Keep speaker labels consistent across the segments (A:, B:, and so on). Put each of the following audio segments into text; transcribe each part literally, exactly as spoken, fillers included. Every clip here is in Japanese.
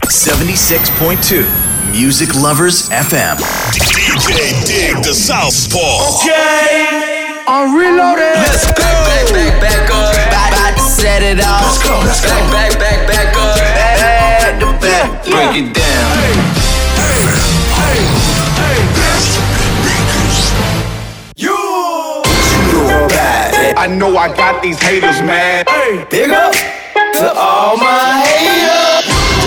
A: seventy-six point two Music Lovers エフエム
B: D J Dig the Southpaw.
C: Okay, I'm reloaded.
A: Let's go. Back, back, back, back up. About, about to set it off. Let's go, let's go. Back, back, back, back up. Back to back. Yeah. Break it down.
B: Hey, hey, hey, this is
C: You.
D: I know I got these haters mad.
C: Hey,
A: Big up to all my haters.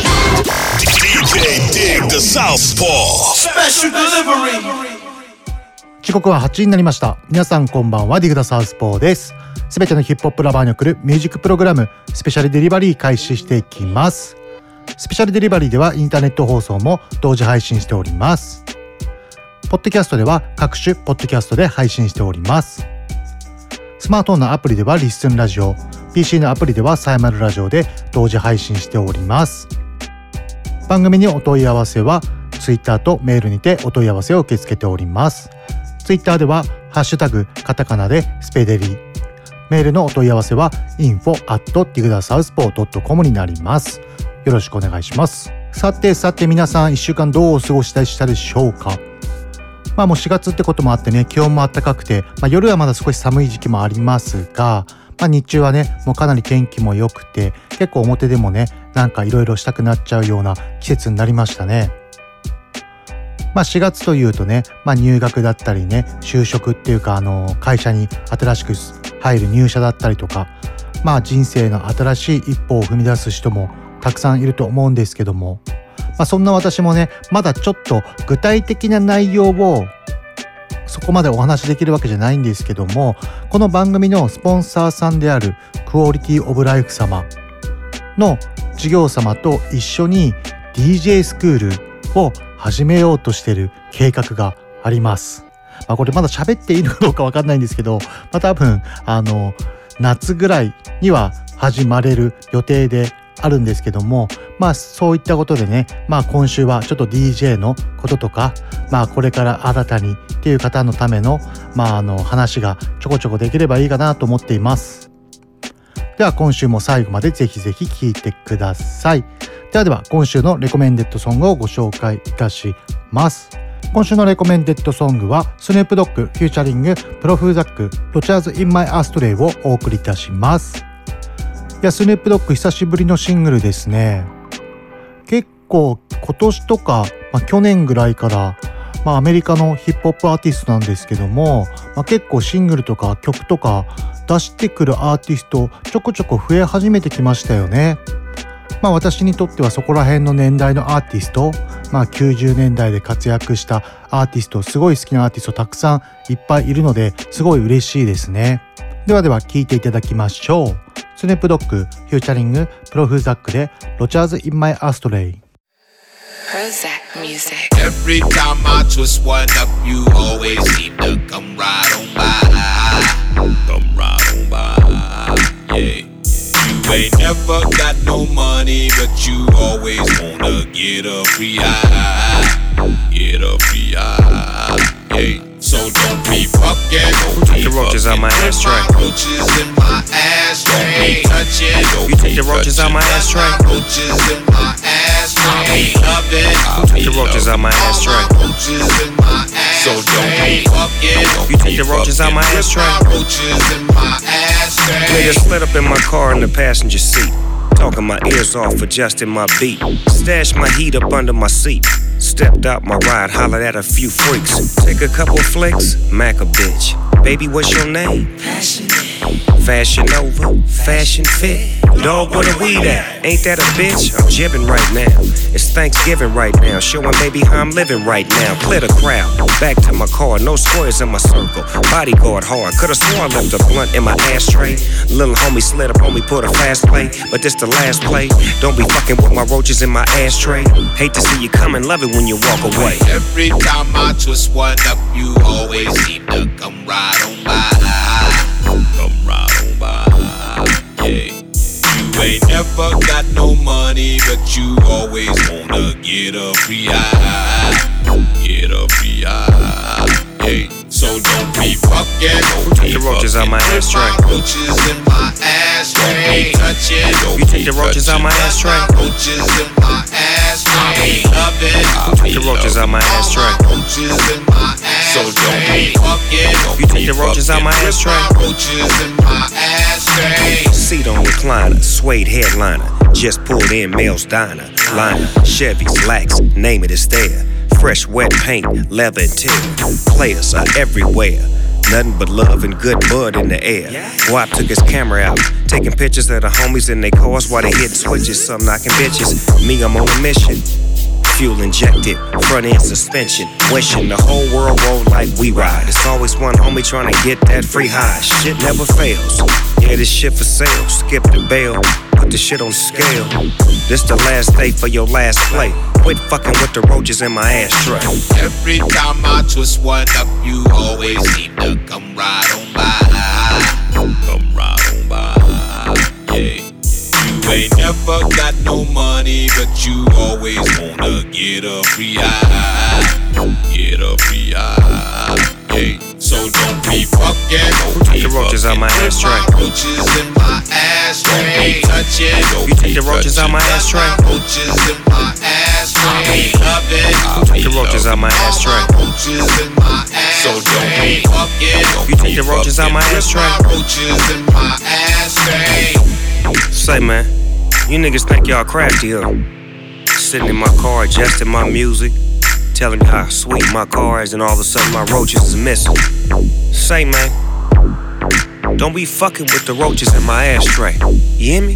B: D J Dig the Southpaw.
C: special delivery.
E: 時刻ははちじになりました。皆さんこんばんは。ディグダサウスポーです。すべてのヒップホップラバーに送るミュージックプログラムスペシャルデリバリー開始していきます。スペシャルデリバリーではインターネット放送も同時配信しております。ポッドキャストでは各種ポッドキャストで配信しております。スマートフォンのアプリではリッスンラジオ、 ピーシー のアプリではサイマルラジオで同時配信しております。番組にお問い合わせはツイッターとメールにてお問い合わせを受け付けております。ツイッターではハッシュタグカタカナでスペデリ、メールのお問い合わせは インフォ アット ディグダサウスポー ドット コム になります。よろしくお願いします。さてさて皆さんいっしゅうかんどうお過ごしでしたでしょうか。まあもうしがつってこともあってね、気温も暖かくて、まあ、夜はまだ少し寒い時期もありますが、まあ、日中はねもうかなり天気も良くて、結構表でもねなんかいろいろしたくなっちゃうような季節になりましたね。まあしがつというとね、まあ、入学だったりね、就職っていうかあの会社に新しく入る入社だったりとか、まあ人生の新しい一歩を踏み出す人もたくさんいると思うんですけども、まあ、そんな私もねまだちょっと具体的な内容をそこまでお話しできるわけじゃないんですけども、この番組のスポンサーさんであるクオリティオブライフ様の事業様と一緒に ディージェー スクールを始めようとしている計画があります。まあ、これまだ喋っていいのかどうかわかんないんですけど、まあ、多分あの夏ぐらいには始まれる予定であるんですけども、まあそういったことでね、まあ今週はちょっと ディージェー のこととか、まあこれから新たにっていう方のためのまああの話がちょこちょこできればいいかなと思っています。では今週も最後までぜひぜひ聴いてください。ではでは今週のレコメンデッドソングをご紹介いたします。今週のレコメンデッドソングはスヌープドッグフューチャリングプロフーザックロチャーズインマイアストレイをお送りいたします。いやスヌープドッグ久しぶりのシングルですね。結構今年とか、まあ、去年ぐらいから、まあ、アメリカのヒップホップアーティストなんですけども、まあ、結構シングルとか曲とか出してくるアーティストちょこちょこ増え始めてきましたよね。まあ私にとってはそこら辺の年代のアーティスト、まあきゅうじゅうねんだいで活躍したアーティスト、すごい好きなアーティストたくさんいっぱいいるのですごい嬉しいですね。ではでは聴いていただきましょう。スヌープドッグフューチャリングプロフーザックでロチャーズインマイアストレイ。
F: Every time I twist one up, you always seem to come right on by. Come right on by, yeah. You ain't never got no money, but you always wanna get a free eye. Get a free eye, yeah. So don't be fucking, don't
G: be the roaches out my ashtray.
F: Roaches in my ashtray. Don't be touching, don't
G: you take the roaches out my ashtray.
F: Roaches in my ashtray.
G: Who took the roaches out my ashtray?
F: So don't be fucking,
G: you take the roaches out my ashtray. Nigga slid up in my car in the passenger seat, talking my ears off, adjusting my beat. Stashed my heat up under my seat. Stepped out my ride, hollered at a few freaks. Take a couple flicks, Mac a bitch. Baby, what's your name? Passionate. Fashion over, fashion fit. Dog, where the weed at? Ain't that a bitch? I'm jibbing right now. It's Thanksgiving right now, showing baby how I'm living right now. Clear the crowd, back to my car, no squares in my circle. Bodyguard hard, could've sworn I left a blunt in my ashtray. Little homie slid up on me, put a fast play, but this the last play. Don't be fucking with my roaches in my ashtray. Hate to see you come and love it when you walk away.
F: Every time I twist one up, you always seem to come right on by. Come right on by, yeah. You ain't never got no money, but you always wanna get a free eye. Get a free eye, yeah. So don't be fucking, don't
G: be the roaches out my ashtray.
F: Roaches in my ashtray. Touch it, don't
G: you take the roaches out my ashtray.
F: Roaches in my ashtray. ashtray. Loving,
G: Take the roaches out my ashtray.
F: roaches in my ashtray. So don't be fucking.
G: You take the roaches out my ashtray.
F: Roaches in my ashtray.
G: Seat on recliner, suede headliner. Just pulled in Mel's Diner. Liner, Chevys, Lax, name it, it's there. Fresh wet paint, leather interior. Players are everywhere. Nothing but love and good bud in the air. W A P took his camera out, taking pictures of the homies in their cars while they hitting switches. Some knocking bitches. Me, I'm on a mission. Fuel injected, front end suspension. Wishing the whole world roll like we ride. It's always one homie trying to get that free high. Shit never fails. Yeah, this shit for sale. Skip the bail, put the shit on scale. This the last day for your last play. Quit fucking with the roaches in my ashtray.
F: Every time I twist one up, you always seem to come right on by. Come right on by, yeah. You ain't never got no money, but you always wanna get a free eye. Get a free eye, yeah. So don't be fucking.
G: Take the roaches out my ashtray.
F: Roaches in my ashtray. Touch it.
G: You take the roaches out my ashtray.
F: Roaches in my ashtray. Love it.
G: Take the roaches out my ashtray.
F: Roaches in my ashtray. So don't be fucking.
G: You take the roaches out my ashtray.
F: Roaches in my ashtray.
G: Say man, you niggas think y'all crafty, huh? Sitting in my car, adjusting my music, telling me how sweet my car is, and all of a sudden my roaches is missing. Say man, don't be fucking with the roaches in my ashtray. You hear me?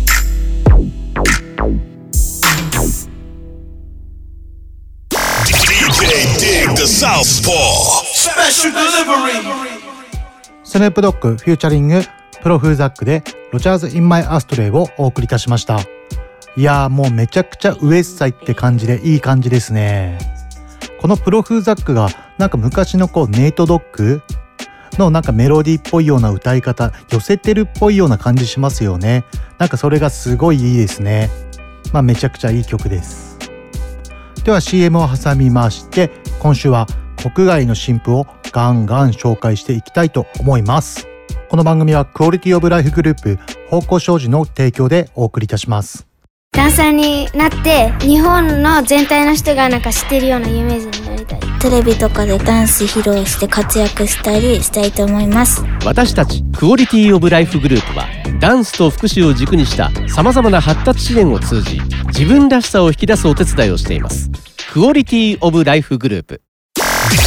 B: D J Dig the Southpaw.
C: Special delivery.
E: スヌープドッグフューチャリングプロフーザックでロジャーズ・イン・マイ・アストレイをお送りいたしました。いやーもうめちゃくちゃウエッサイって感じでいい感じですね。このプロフーザックがなんか昔のこうネイトドッグのなんかメロディーっぽいような歌い方、寄せてるっぽいような感じしますよね。なんかそれがすごいいいですね。まあめちゃくちゃいい曲です。では シーエム を挟みまして、今週は国外の新譜をガンガン紹介していきたいと思います。この番組はクオリティオブライフグループ方向障子の提供でお送りいたします。
H: ダンサーになって日本の全体の人がなんか知ってるような有名人になりたい。
I: テレビとかでダンス披露して活躍したりしたいと思います。
J: 私たちクオリティオブライフグループはダンスと福祉を軸にしたさまざまな発達支援を通じ自分らしさを引き出すお手伝いをしています。クオリティオブライフグループ。
B: D J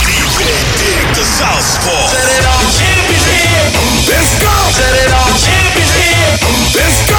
B: Dig the Southpaw.
C: Set it off. Champions here. Let's go. Set it off. Champions here. Let's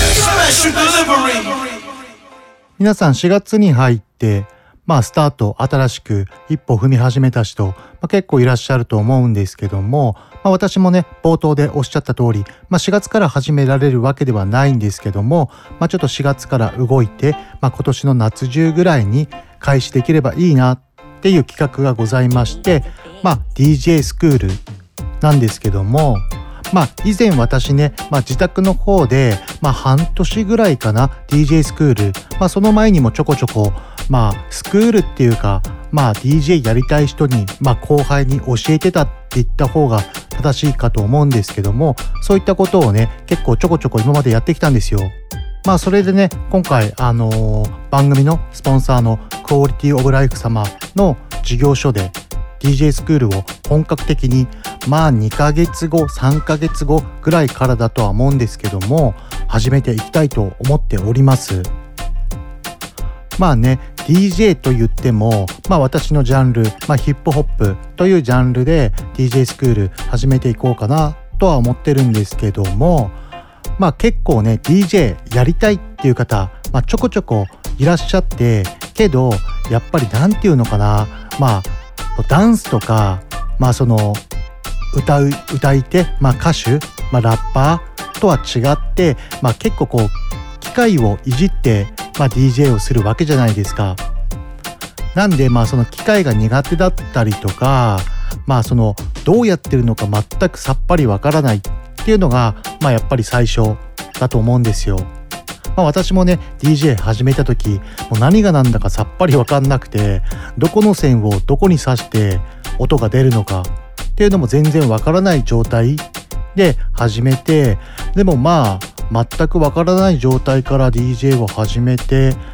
C: go. Special delivery.
E: 皆さんしがつに入ってまあスタート新しく一歩踏み始めた人、まあ、結構いらっしゃると思うんですけども、まあ、私もね冒頭でおっしゃった通り、まあ、しがつから始められるわけではないんですけども、まあ、ちょっとしがつから動いて、まあ、今年の夏中ぐらいに開始できればいいなっていう企画がございまして、まあ、ディージェー スクールなんですけども、まあ以前私ね、まあ、自宅の方で、まあ、半年ぐらいかな ディージェー スクール、まあ、その前にもちょこちょこ、まあ、スクールっていうか、まあ、ディージェー やりたい人に、まあ、後輩に教えてたって言った方が正しいかと思うんですけども、そういったことをね結構ちょこちょこ今までやってきたんですよ。まあそれでね今回あのー、番組のスポンサーのクオリティオブライフ様の事業所でディージェー スクールを本格的にまあにかげつごさんかげつごぐらいからだとは思うんですけども始めていきたいと思っております。まあね ディージェー と言ってもまあ私のジャンル、まあ、ヒップホップというジャンルで ディージェー スクール始めていこうかなとは思ってるんですけども、まあ結構ね ディージェー やりたいっていう方、まあ、ちょこちょこいらっしゃってけどやっぱりなんていうのかな、まあダンスとか、まあその歌う歌い手、まあ歌手、まあラッパーとは違って、まあ結構こう機械をいじって、まあ ディージェー をするわけじゃないですか。なんでまあその機械が苦手だったりとか、まあそのどうやってるのか全くさっぱりわからないっていうのが、まあやっぱり最初だと思うんですよ。まあ、私もね ディージェー 始めた時もう何が何だかさっぱり分かんなくてどこの線をどこに刺して音が出るのかっていうのも全然分からない状態で始めて、でもまあ全く分からない状態から ディージェー を始めて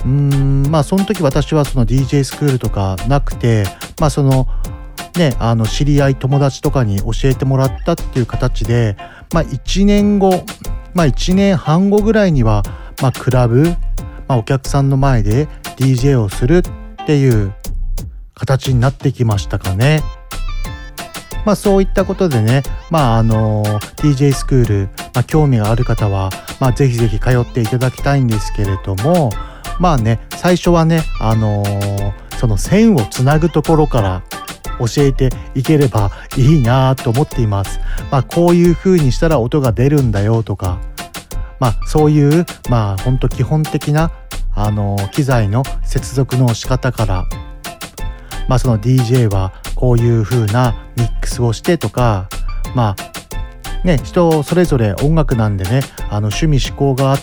E: うーんまあその時私はその ディージェー スクールとかなくて、まあそのねあの知り合い友達とかに教えてもらったっていう形で、まあいちねんご、まあいちねんはんごぐらいにはまあクラブ、まあ、お客さんの前で ディージェー をするっていう形になってきましたかね。まあそういったことでね、まああの ディージェー スクール、まあ、興味がある方は、まあ、ぜひぜひ通っていただきたいんですけれども、まあね最初はねあのー、その線をつなぐところから教えていければいいなと思っています。まあこういう風にしたら音が出るんだよとか、まあそういうまあ本当基本的なあのー、機材の接続の仕方から、まあその ディージェー はこういう風なミックスをしてとか、まあね人それぞれ音楽なんでねあの趣味嗜好があって、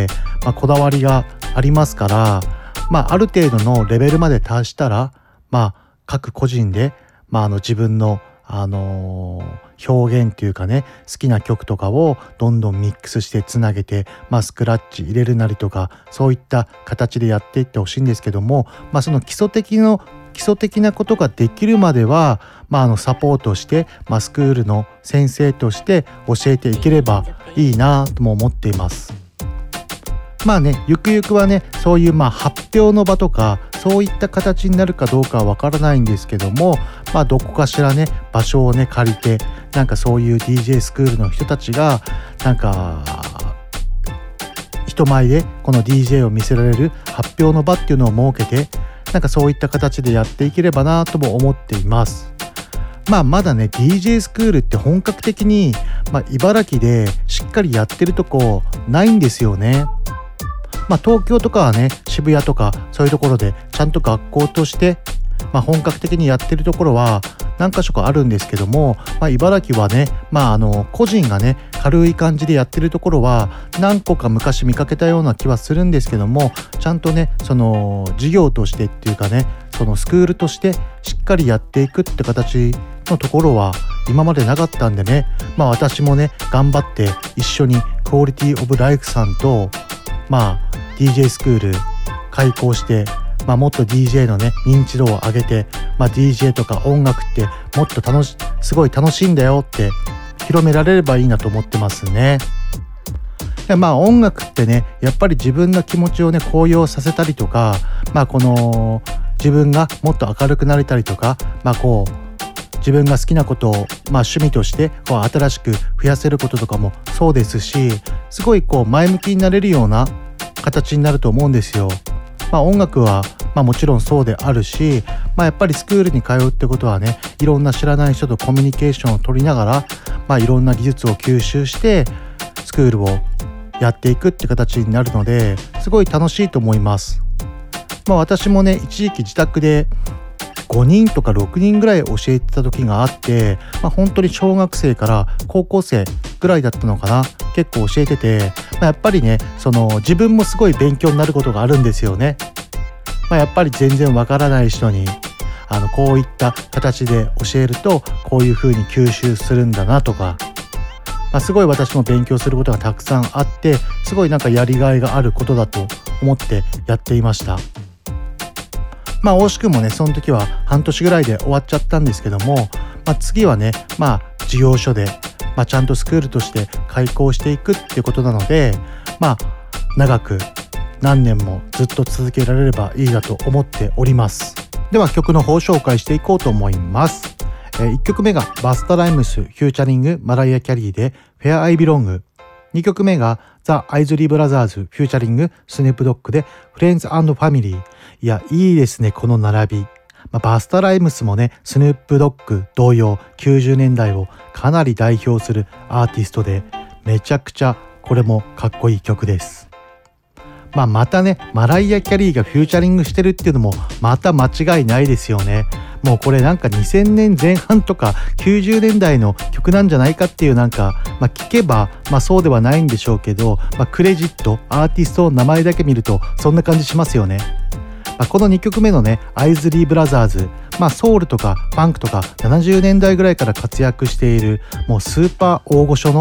E: まあ、こだわりがありますから、まあある程度のレベルまで達したら、まあ各個人で、まあ、あの自分のあのー、表現っていうかね好きな曲とかをどんどんミックスしてつなげて、まあ、スクラッチ入れるなりとかそういった形でやっていってほしいんですけども、まあ、その基礎的の基礎的なことができるまでは、まあ、あのサポートして、まあ、スクールの先生として教えていければいいなとも思っています。まあねゆくゆくはねそういうまあ発表の場とかそういった形になるかどうかはわからないんですけども、まあどこかしらね場所をね借りてなんかそういう ディージェー スクールの人たちがなんか人前でこの ディージェー を見せられる発表の場っていうのを設けてなんかそういった形でやっていければなとも思っています。まあまだね ディージェー スクールって本格的に、まあ、茨城でしっかりやってるとこないんですよね。まあ東京とかはね渋谷とかそういうところでちゃんと学校として、まあ、本格的にやってるところは何か所かあるんですけども、まあ、茨城はねまああの個人がね軽い感じでやってるところは何個か昔見かけたような気はするんですけども、ちゃんとねその事業としてっていうかねそのスクールとしてしっかりやっていくって形のところは今までなかったんでね、まあ私もね頑張って一緒にクオリティオブライフさんとまあ ディージェー スクール開講して、まあ、もっと ディージェー のね認知度を上げて、まあ、ディージェー とか音楽ってもっと楽しすごい楽しいんだよって広められればいいなと思ってますね。でまあ音楽ってねやっぱり自分の気持ちをね高揚させたりとか、まあこの自分がもっと明るくなれたりとか、まあこう自分が好きなことを、まあ、趣味としてこう新しく増やせることとかもそうですし、すごいこう前向きになれるような形になると思うんですよ。まあ音楽はまあもちろんそうであるし、まあやっぱりスクールに通うってことはねいろんな知らない人とコミュニケーションを取りながら、まあいろんな技術を吸収してスクールをやっていくって形になるのですごい楽しいと思います。まあ私もね一時期自宅でごにんとかろくにんぐらい教えてた時があって、まあ、本当に小学生から高校生ぐらいだったのかな結構教えてて、まあ、やっぱりねその自分もすごい勉強になることがあるんですよね。まあ、やっぱり全然わからない人にあのこういった形で教えるとこういう風に吸収するんだなとか、まあ、すごい私も勉強することがたくさんあってすごいなんかやりがいがあることだと思ってやっていました。まあ惜しくもねその時は半年ぐらいで終わっちゃったんですけども、まあ、次はねまあ事業所で、まあ、ちゃんとスクールとして開講していくっていうことなので、まあ長く何年もずっと続けられればいいなと思っております。では曲の方紹介していこうと思います。えー、いっきょくめがバスタライムスフューチャリングマライア・キャリーで Where I Belong、 にきょくめがザ・アイズリー・ブラザーズフューチャリングスヌープドッグで Friends and Family。いやいいですねこの並び。まあ、バスタライムスもねスヌープドッグ同様きゅうじゅうねんだいをかなり代表するアーティストでめちゃくちゃこれもかっこいい曲です。まあまたねマライア・キャリーがフューチャリングしてるっていうのもまた間違いないですよね。もうこれなんかにせんねんぜん半とかきゅうじゅうねんだいの曲なんじゃないかっていうなんか、まあ、聞けばまあそうではないんでしょうけど、まあ、クレジットアーティストの名前だけ見るとそんな感じしますよね。まあ、このにきょくめのねアイズリー・ブラザーズ、まあ、ソウルとかパンクとかななじゅうねんだいぐらいから活躍しているもうスーパー大御所の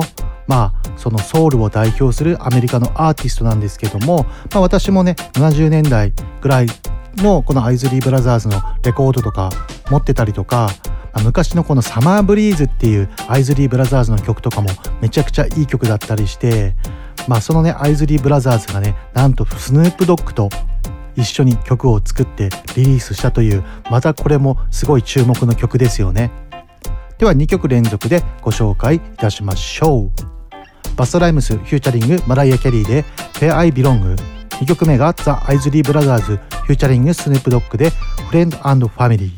E: まあそのソウルを代表するアメリカのアーティストなんですけども、まあ、私もねななじゅうねんだいぐらいのこのアイズリーブラザーズのレコードとか持ってたりとか、まあ、昔のこのサマーブリーズっていうアイズリーブラザーズの曲とかもめちゃくちゃいい曲だったりして、まあそのねアイズリーブラザーズがねなんとスヌープドッグと一緒に曲を作ってリリースしたという、またこれもすごい注目の曲ですよね。ではにきょく連続でご紹介いたしましょう。バストライムスフューチャリングマライア・キャリーで Where I Belong、 にきょくめがザ・アイズリーブラザーズフューチャリングスヌープドッグで Friend and Family。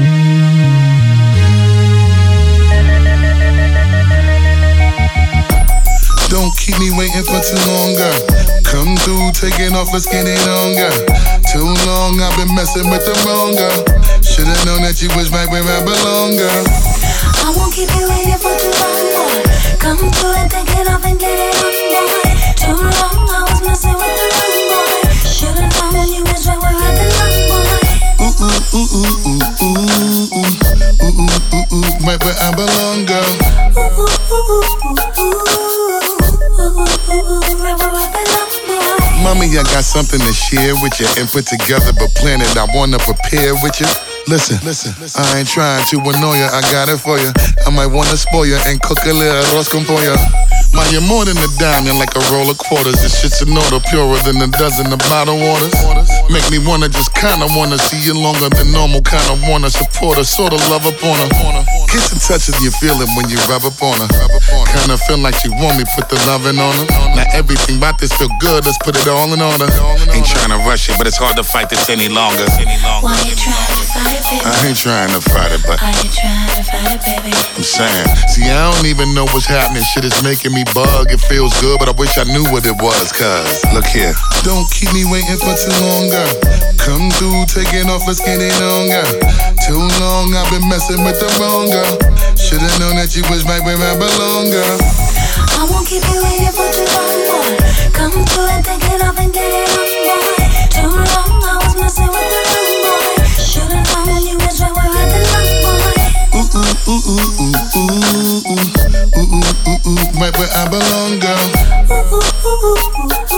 K: Don't keep me waiting for too long, girl. Come through, taking off, let's get it on, girl. Too long, I've been messing with the wrong girl. Should've known that you was right where I belong, girl.
L: I won't keep you waiting for too long, boy. Come through and take it off and get it on, boy. Too long, I was messing with the wrong boy. Should've known you was right where I belong, boy.
K: Ooh, ooh, ooh, ooh, ooh, ooh, ooh, ooh, ooh, ooh, ooh, right where I belong, girl.
L: Ooh, ooh, ooh, ooh, ooh, ooh.
K: Mommy, I got something to share with you and put together but plan it. I wanna prepare with you. Listen, listen, I ain't trying to annoy you, I got it for you. I might wanna spoil you and cook a little arroz con pollo. Ma, you're more than a diamond, like a roll of quarters. This shit's an order purer than a dozen of bottled waters. Make me wanna just kinda wanna see you longer than normal. Kinda wanna support her, sorta love upon her. Kiss and touches you feel it when you rub up on her. Kinda feel like she want me, put the loving on her. Now everything about this feel good, let's put it all in order.
M: Ain't trying to rush it, but it's hard to fight this any longer.
L: Why you trying to fight it, baby?
K: I ain't trying to fight it, but
L: Are you trying to fight it, baby?
K: I'm saying, see, I don't even know what's happening. Shit is making me bug. It feels good, but I wish I knew what it was. Cause, look here. Don't keep me waiting for too long, girl. Come through, taking off, let's get it on, girl. Too long, I've been messing with the wrong girl. Should've known that you was right where I belong, girl.
L: I won't keep you waiting for too long, boy. Come through and take it off and get it on, boy. Too long, I was messing with the wrong boy. Should've known you was right where I belong, boy.
K: Ooh, ooh, ooh, ooh, ooh, ooh, ooh, ooh, ooh, ooh, ooh, right where I belong, girl.
L: Ooh, ooh, ooh, ooh, ooh,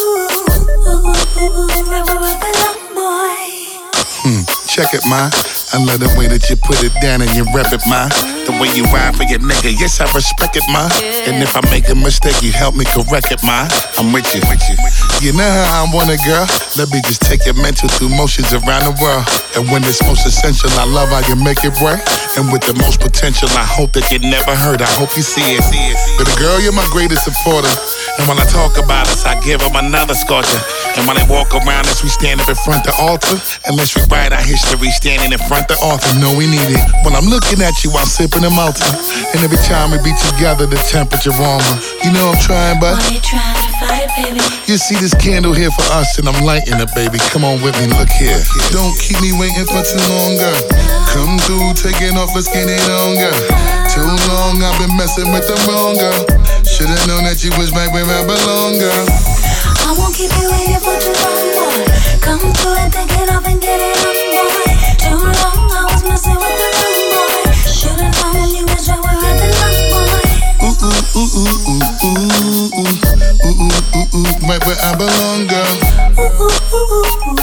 L: ooh, ooh, ooh, right where I belong, boy.
K: Hmm, check it, ma. I love the way that you put it down and you rep it, ma. The way you ride for your nigga, yes, I respect it, ma. And if I make a mistake, you help me correct it, ma. I'm with you, with you. You know how I want it, girl. Let me just take your mental through motions around the world. And when it's most essential, I love how you make it work. And with the most potential, I hope that you never hurt. I hope you see it. But girl, you're my greatest supporter.
M: And when I talk about us, I give them another scorcher. And when they walk around us, we stand up in front of the altar.
K: Unless we write our history standing in front of the author. No, we need it. When I'm looking at you, I'm sipping a Malta. And every time we be together, the temperature warmer. You know I'm trying, but
L: Why you trying to fight it, baby?
K: You see this candle here for us, and I'm lighting it, baby. Come on with me, look here. Don't keep me waiting for too long, girl. Come through, taking off, let's get it on, girl. Too long, I've been messing with the wrong girl. Should've known that you was right where I belong, girl.
L: I won't keep you waiting for too long, boy. Come through and take it off and get it on, boy. Too long, I was messing with the wrong boy. Should've known you was right where I belong, boy.
K: Ooh, ooh, ooh, ooh, ooh, ooh, ooh, ooh, ooh, ooh, ooh, right where I belong, girl.
L: Ooh, ooh, ooh, ooh, ooh,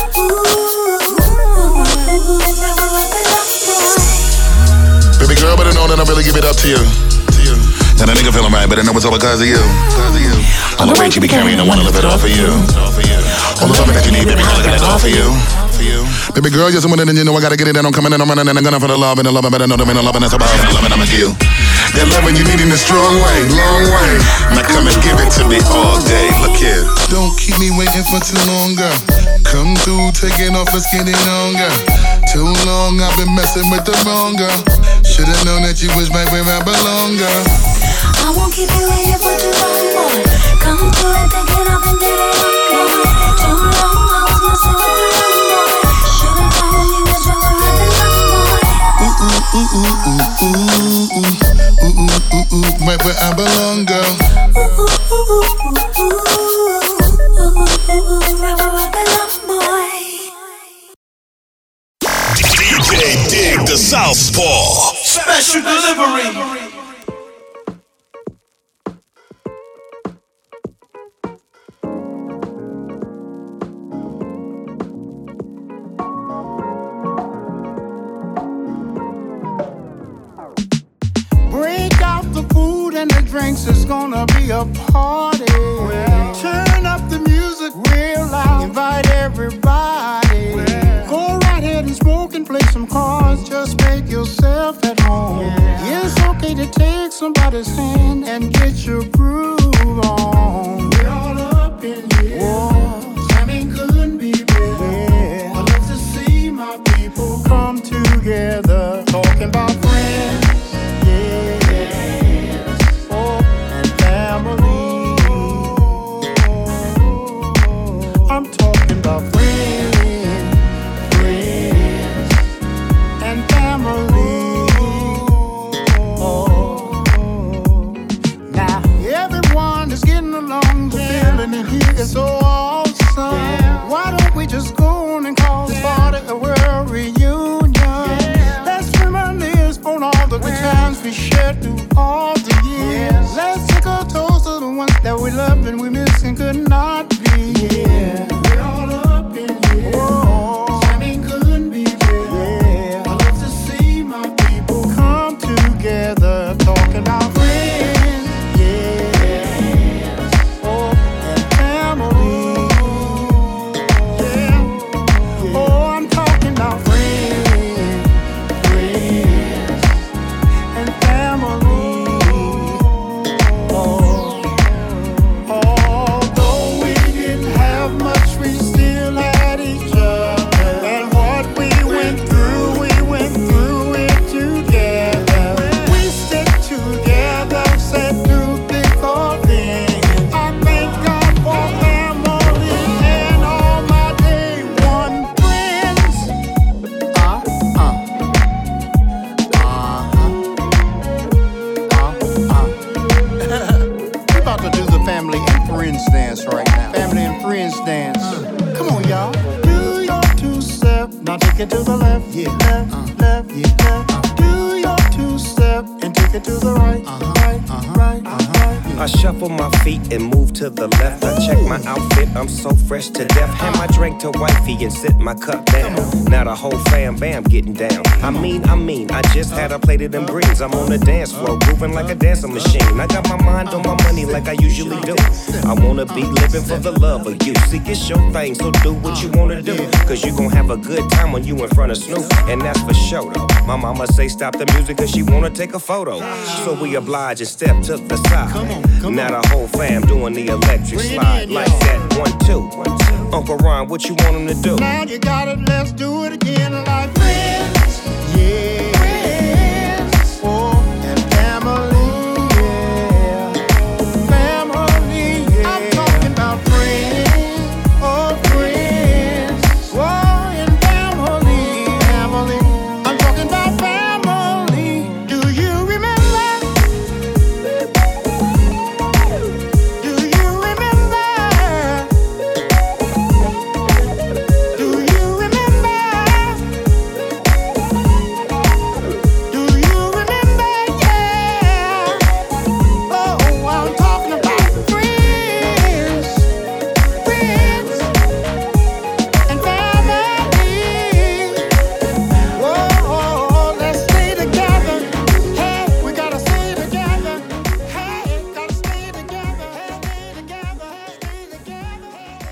L: ooh, ooh, right where I belong, boy.
K: Baby girl, better know that I really give it up to you. To you. And a nigga feeling right, but I know it's all because of you. Because of you. All the weight you be carrying, I wanna live it off of you. All the loving that you need, baby, all I got it all for you. Baby girl, you're someone that you know I gotta get it, and I'm coming and I'm running and I'm gonna for the love and the love, but I know there ain't no love and that's about and the love and I'm with you. That loving you need in a strong way, long way. Now come and give it to me all day. Look here. Don't keep me waiting for too long, girl. Come through, taking off, let's get it on, girl. Too long, I've been messing with the wrong girl. Should've known that you was right where I belong, girl.
L: I won't keep you waiting for too long, boy. Come through and take it off and get it on, boy. Too long, I was messing with the wrong boy. Should've known you was right where I belong, boy.
K: Ooh, ooh, ooh, ooh, ooh, ooh, ooh, ooh, ooh, ooh, ooh, right where I belong, girl.
L: Ooh, ooh, ooh, ooh, ooh, ooh, ooh, ooh, right where I belong, boy.
B: D J Dig the Southpaw.
C: Special delivery.
N: drinks, it's gonna be a party. Well, turn up the music real loud. Invite everybody. Well, go right ahead and smoke and play some cards. Just make yourself at home. Yeah. It's okay to take somebody's hand and get your groove on. We're all up in here. Whoa, jamming couldn't be better. Yeah. I love to see my people come together, talking about friends. I'm talking about friends, friends, and family. Oh, now everyone is getting along. The feeling in here is so awesome. Yeah. Why don't we just go on and call this party a world reunion? Yeah. Let's reminisce on all the good times we shared through all the years. Yeah. Let's take a toast to the ones that we love and we miss and could not be. Yeah. We're all up in here. Whoa. Jamming couldn't be better. Yeah. I love to see my people come together, talking about friends. Yeah. Oh, and family. Yeah. Oh, I'm talking about friends, friends, and family. Take it to the left, yeah, left, uh, left, yeah, left. Uh, do your two step and take it to the right, uh-huh, right, uh-huh, right, uh-huh, right. Yeah.
G: I shuffle my feet and move to the left. I check my outfit, I'm so fresh to death. Hand my drink to wifey and sit my cup down. Now the whole fam bam getting down. I mean, I mean, I just had a plate of them greens. I'm on the dance floor, grooving like a dancing machine. I got my mind on my money like I usually do. I wanna be living for the love of you. See, it's your thing, so do what you wanna do. Cause you gon' have a good time when you in front of Snoop, and that's for sure though. My mama say stop the music cause she wanna take a photo. So we oblige and step to the side. Come on, come now the whole fam doing the electric slide like that. One, two. Uncle Ron, what you want him to do?
N: Now you got it, let's do it again like friends. Yeah. Friends. Oh, and family. Yeah. Family. Yeah. I'm talking about friends. Oh, friends. Oh, and family. Family. I'm talking about family. Do you remember? Do you remember? Do you remember? Do you remember? Yeah. Oh, I'm talking about friends, friends, and family. Whoa, let's stay together. Hey, we gotta stay together. Hey, gotta stay together. Stay together. Stay together.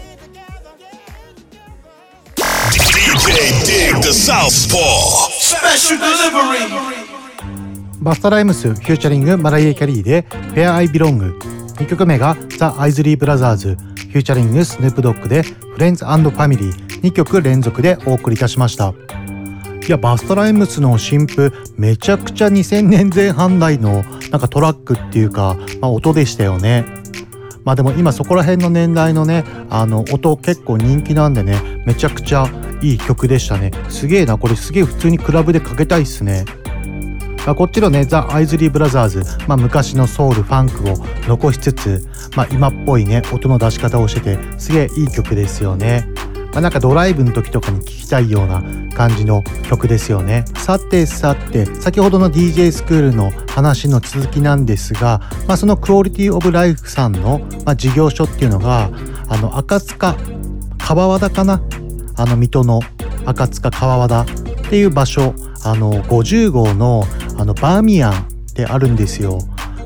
B: D J Dig the Southpaw.
C: Special delivery.
E: バスタライムスフューチャリングマライエ・キャリーで Where I Belong。 にきょくめがザ・アイズリー・ブラザーズフューチャリングスヌープドッグで Friends and Family。 にきょく連続でお送りいたしました。いや、バスタライムスの新譜めちゃくちゃにせんねんぜん半代のなんかトラックっていうか、まあ、音でしたよね。まあでも今そこら辺の年代のね、あの音結構人気なんでね、めちゃくちゃいい曲でしたね。すげえな、これすげえ普通にクラブでかけたいっすね。あ、こっちのねザ・アイズリー・ブラザーズ、まあ、昔のソウルファンクを残しつつ、まあ、今っぽいね音の出し方をしててすげえいい曲ですよね。まあ、なんかドライブの時とかに聴きたいような感じの曲ですよね。さてさて、先ほどの ディージェー スクールの話の続きなんですが、まあ、そのクオリティオブライフさんの、まあ、事業所っていうのがあの赤塚川和田かな、あの水戸の赤塚川和田っていう場所、あのごじゅうごうのあのバーミヤンってあるんですよ。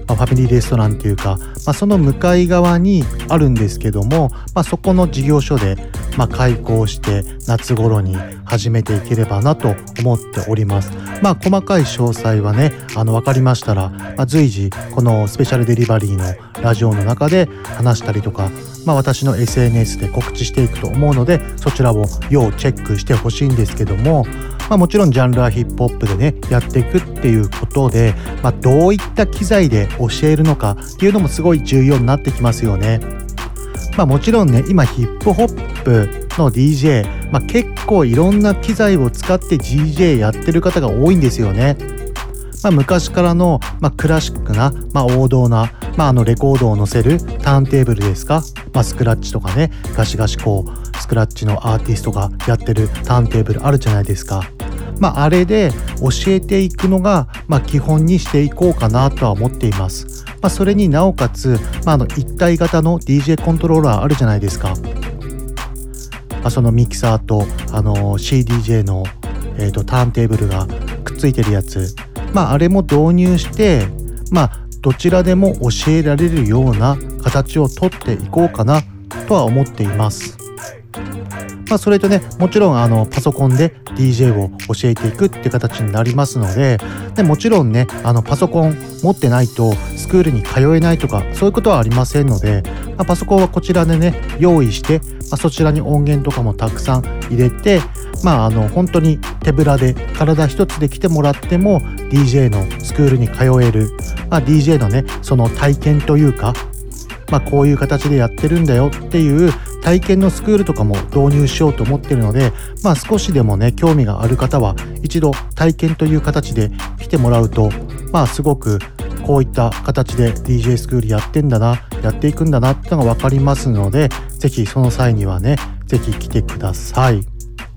E: まあ、ファミリーレストランっていうか、まあ、その向かい側にあるんですけども、まあ、そこの事業所で、まあ、開校して夏頃に始めていければなと思っております。まあ細かい詳細はね、あの分かりましたら、まあ、随時このスペシャルデリバリーのラジオの中で話したりとか、まあ、私の エスエヌエス で告知していくと思うので、そちらを要チェックしてほしいんですけども、まあ、もちろんジャンルはヒップホップでねやっていくっていうことで、まあ、どういった機材で教えるのかっていうのもすごい重要になってきますよね。まあ、もちろんね今ヒップホップの ディージェー、まあ、結構いろんな機材を使って ディージェー やってる方が多いんですよね。まあ、昔からの、まあ、クラシックな、まあ、王道な、まあ、あのレコードを載せるターンテーブルですか、まあ、スクラッチとかね、ガシガシこうスクラッチのアーティストがやってるターンテーブルあるじゃないですか。まあ、あれで教えていくのが、まあ、基本にしていこうかなとは思っています。まあ、それになおかつ、まあ、あの一体型の ディージェー コントローラーあるじゃないですか。まあ、そのミキサーとあの シーディージェー の、えーと、ターンテーブルがくっついてるやつ、まあ、あれも導入して、まあ、どちらでも教えられるような形をとっていこうかなとは思っています。まあ、それとね、もちろんあのパソコンで ディージェー を教えていくって形になりますので、でもちろんね、あのパソコン持ってないとスクールに通えないとかそういうことはありませんので、まあ、パソコンはこちらでね用意して、まあ、そちらに音源とかもたくさん入れて、まああの本当に手ぶらで体一つで来てもらっても ディージェー のスクールに通える、まあ、ディージェー のねその体験というか、まあ、こういう形でやってるんだよっていう体験のスクールとかも導入しようと思ってるので、まあ、少しでもね興味がある方は一度体験という形で来てもらうと、まあすごくこういった形で ディージェー スクールやってんだな、やっていくんだなってのが分かりますので、ぜひその際にはねぜひ来てください。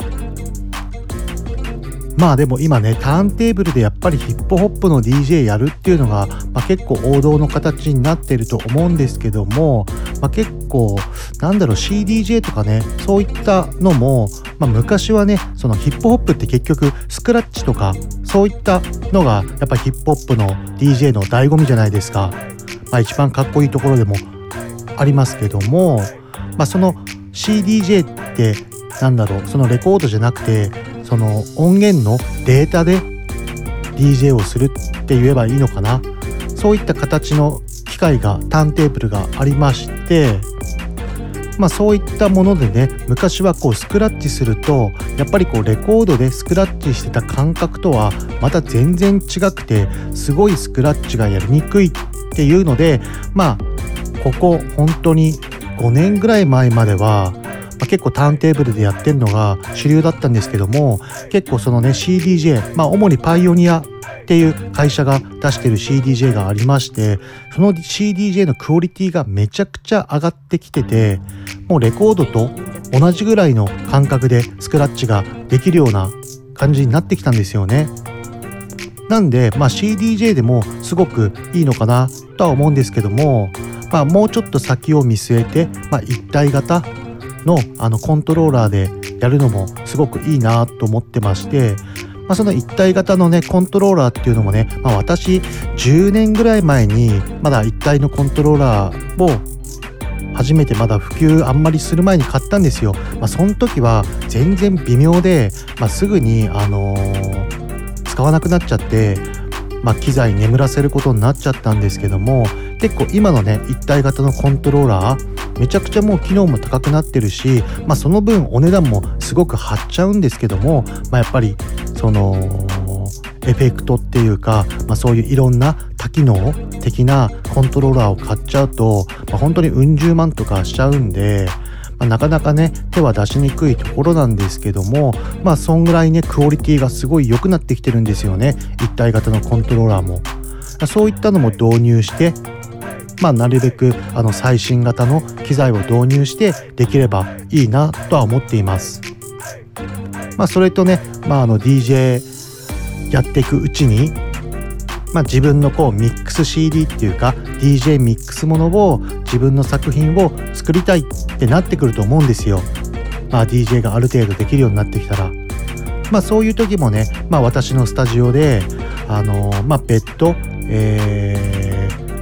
E: まあでも今ねターンテーブルでやっぱりヒップホップの ディージェー やるっていうのが、まあ、結構王道の形になってると思うんですけども、まあ、結構なんだろう シーディージェー とかねそういったのも、まあ、昔はねそのヒップホップって結局スクラッチとかそういったのがやっぱりヒップホップの ディージェー の醍醐味じゃないですか。まあ、一番かっこいいところでもありますけども、まあ、その シーディージェー ってなんだろうそのレコードじゃなくてその音源のデータで ディージェー をするって言えばいいのかな。そういった形の機械がターンテーブルがありまして、まあそういったものでね昔はこうスクラッチするとやっぱりこうレコードでスクラッチしてた感覚とはまた全然違くてすごいスクラッチがやりにくいっていうので、まあここ本当にごねんぐらい前まではまあ、結構ターンテーブルでやってるのが主流だったんですけども、結構そのね シーディージェー、まあ主にパイオニアっていう会社が出してる シーディージェー がありまして、その シーディージェー のクオリティがめちゃくちゃ上がってきてて、もうレコードと同じぐらいの感覚でスクラッチができるような感じになってきたんですよね。なんで、まあ、シーディージェー でもすごくいいのかなとは思うんですけども、まあ、もうちょっと先を見据えて、まあ、一体型の, あのコントローラーでやるのもすごくいいなと思ってまして、まあ、その一体型のねコントローラーっていうのもね、まあ、私じゅうねんぐらい前にまだ一体のコントローラーを初めてまだ普及あんまりする前に買ったんですよ。まあ、その時は全然微妙で、まあ、すぐに、あのー、使わなくなっちゃって、まあ、機材眠らせることになっちゃったんですけども、結構今のね一体型のコントローラーめちゃくちゃもう機能も高くなってるし、まあ、その分お値段もすごく張っちゃうんですけども、まあ、やっぱりそのエフェクトっていうか、まあ、そういういろんな多機能的なコントローラーを買っちゃうと、まあ、本当にうん十万とかしちゃうんで、まあ、なかなかね手は出しにくいところなんですけども、まあそんぐらいねクオリティがすごい良くなってきてるんですよね、一体型のコントローラーも。そういったのも導入して、まあ、なるべくあの最新型の機材を導入してできればいいなとは思っています。まあ、それとね、まあ、あの ディージェー やっていくうちに、まあ、自分のこうミックス シーディー っていうか ディージェー ミックスものを自分の作品を作りたいってなってくると思うんですよ。まあ、ディージェー がある程度できるようになってきたら、まあ、そういう時もね、まあ、私のスタジオであのー、まあ別途、えー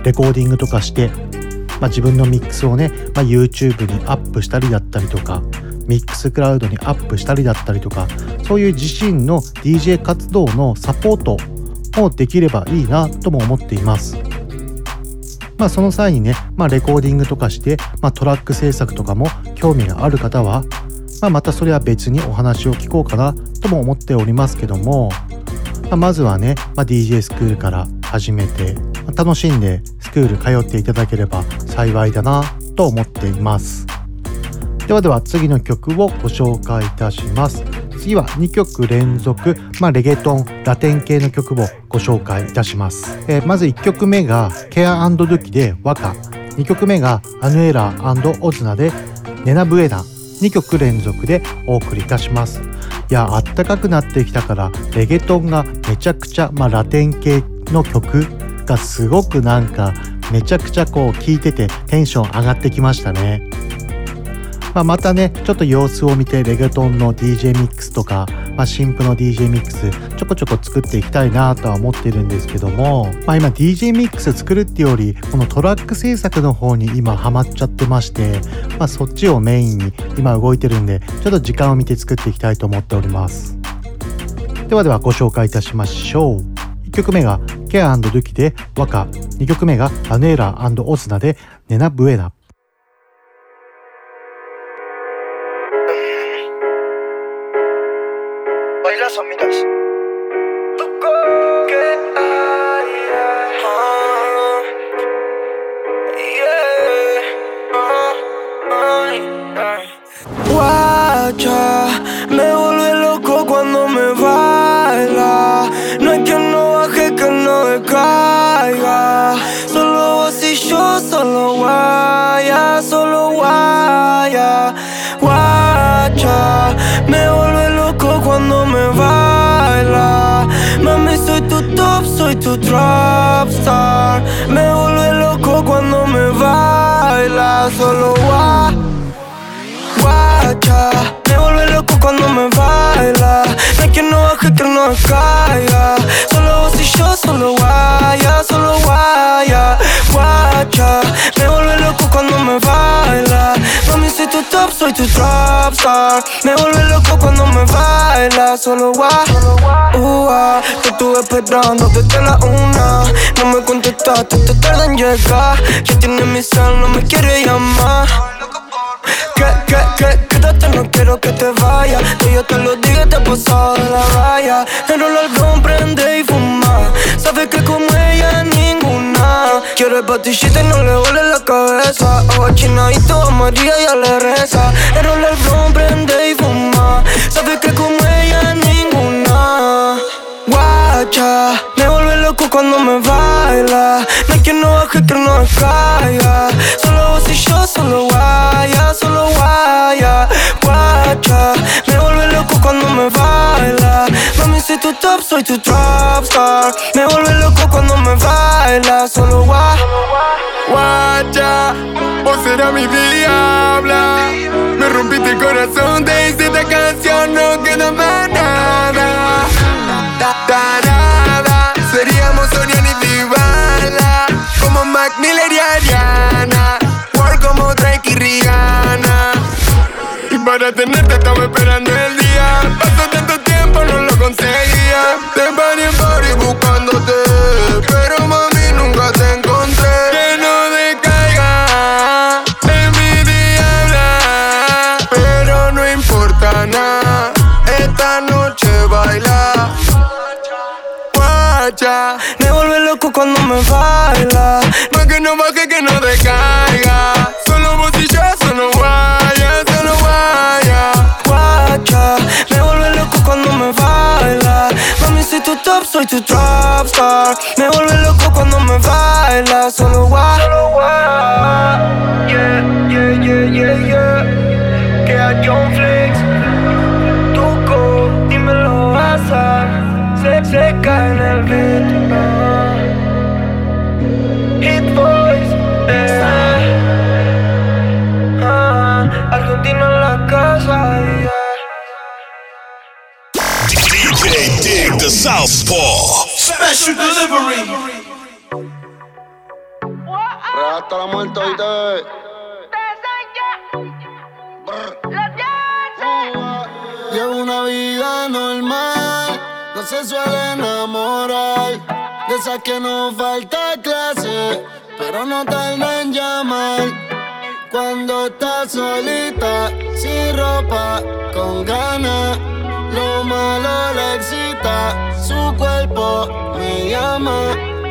E: レコーディングとかして、まあ、自分のミックスをね、まあ、YouTube にアップしたりだったりとか、ミックスクラウドにアップしたりだったりとか、そういう自身の ディージェー 活動のサポートもできればいいなとも思っています。まあその際にね、まあレコーディングとかして、まあトラック制作とかも興味がある方は、まあまたそれは別にお話を聞こうかなとも思っておりますけども、まあ、まずはね、まあ、ディージェー スクールから始めて、まあ、楽しんでスクール通っていただければ幸いだなと思っています。ではでは次の曲をご紹介いたします。次はにきょく連続、まあ、レゲトン、ラテン系の曲をご紹介いたします。えー、まずいっきょくめがケア&ドゥキでワカ、にきょくめがアヌエラー&オズナでネナブエナ、にきょく連続でお送りいたします。いや、あったかくなってきたからレゲトンがめちゃくちゃ、まあ、ラテン系の曲がすごくなんかめちゃくちゃこう聴いててテンション上がってきましたね。まあ、またねちょっと様子を見てレゲトンの ディージェー ミックスとか、まあ、新譜の ディージェー ミックスちょこちょこ作っていきたいなとは思ってるんですけども、まあ、今 ディージェー ミックス作るっていうよりこのトラック制作の方に今ハマっちゃってまして、まあ、そっちをメインに今動いてるんでちょっと時間を見て作っていきたいと思っております。ではではご紹介いたしましょう。いっきょくめがケア&ドゥキでワカ、にきょくめがアネーラー&オズナでネナブエナ。
O: Bailas amigas. Tú que hay, uh, yeah, uh, guacha, me vuelve loco cuando me baila. No hay que no baje, que no decaiga. Solo vos y yo, solo guaya, solo guaya. Guacha, me vuelve loco cuando me baila. Mami, soy tu top, soy tu trap star. Me vuelve loco cuando me baila. Solo gua, guacha, me vuelve loco cuando me baila. No hay que no baje, que no caiga. Solo vos y yo, solo guaya, solo guaya. Guacha, me vuelve loco cuando me baila. Mami, soy tu top, soy tu trap star. Me vuelve loco cuando me baila. Solo gua, uh, te estuve esperando desde la una. No me contestaste, te tarda en llegar. Ya tienes mi cel, no me quiere llamar. Que, que, que, quédate, no quiero que te vayas. Que yo te lo diga, te he pasado de la raya. Enrola el algodón, prende y fuma. Sabes que como ella ninguna. Quiero el patichita y no le duele la cabeza. Agua chinadito a María ya le reza. Enrola el algodón, prende y fuma. Sabes que como ella ninguna. Guacha, me vuelve loco cuando me baila. No hay quien no baje, que no caiga. Solo vos y yo, solo guaya, solo guaya. Guacha, me vuelve loco cuando me baila. Mami, soy tu top, soy tu trap star. Me vuelve loco cuando me baila. Solo gua,
P: guacha, vos serás mi diabla. Me rompiste el corazón, te hice esta canción, no queda más nada. Tarada, seríamos Sonia y Dybala, como Mac Miller y Ariana, War como Drake y Rihanna. Y para tenerte estaba esperando el día. Pasó tanto tiempo, no lo conseguía. Te paré en party buscándote, pero mami nunca te encontré. Que no decaiga en mi diabla, pero no importa nada. Esta noche baila.
O: Me vuelve loco cuando me baila.
P: No es que no baje, que no decaiga. Solo vos y yo, solo guaya, solo guaya.
O: Guacha, me vuelve loco cuando me baila. Mami, soy tu top, soy tu trap star. Me vuelve loco cuando me baila. Solo gua, solo gua. Yeah, yeah, yeah, yeah, yeah. Que a John Flex. Tuco, dímelo, Asa. Se, se cae en el beat, uh. Hit Boys, eh. uh. Argentina en la casa, yeah.
B: D J Dig the Southpaw.
C: Special delivery.
Q: hasta la muerte, oíste. Llevo una vida normal, no se suele enamorar. De esas que no falta clase, pero no tarda en llamar. Cuando estás solita, sin ropa, con ganas, lo malo le excita, su cuerpo me llama.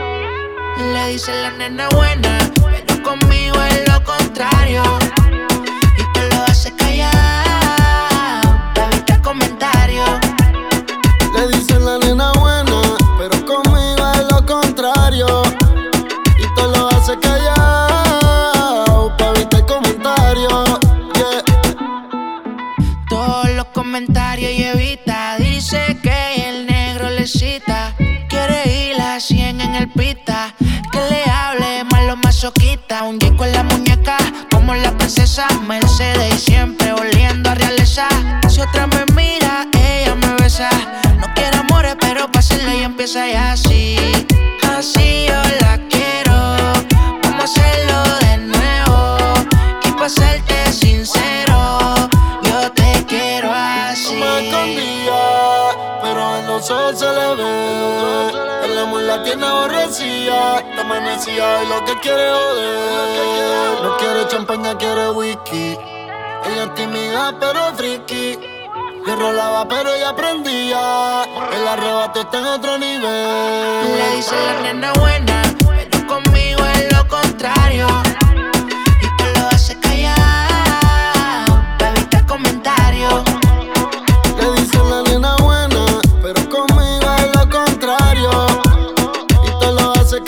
R: Le dice la nena buena, pero conmigo es lo contrario. Y tú lo haces callado, para evitar comentarios.
Q: Le dicen la nena buena, pero conmigo es lo contrario. Y tú lo haces callado, para evitar comentarios. Yeah.
R: Todos los comentarios y evita. Dice que el negro le cita. Quiere ir a cien en el pita. Que le hable malo masoquista. Un disco en la muñeca, como la princesa Mercedes. Y siempre oliendo a realeza. Si otra me mira, ella me besa. No quiero amores, pero pa' hacerlo y empieza ya así. Así yo la quiero. Vamos a hacerlo de nuevo. Y pa' serte sincero, yo te quiero así.
Q: No me escondía, pero en los ojos se le ve. El amor la tiene aborrecida, te amanecía y lo que quiere joder. No quiere champaña, quiere whisky. Ella es tímida pero friki. Yo rolaba pero ella aprendía. El arrebato está en otro nivel.
R: Le dice la nena buena, pero conmigo es lo contrario. Y tú lo haces callado, para evitar comentarios.
Q: Le dice la nena buena, pero conmigo es lo contrario. Y tú lo haces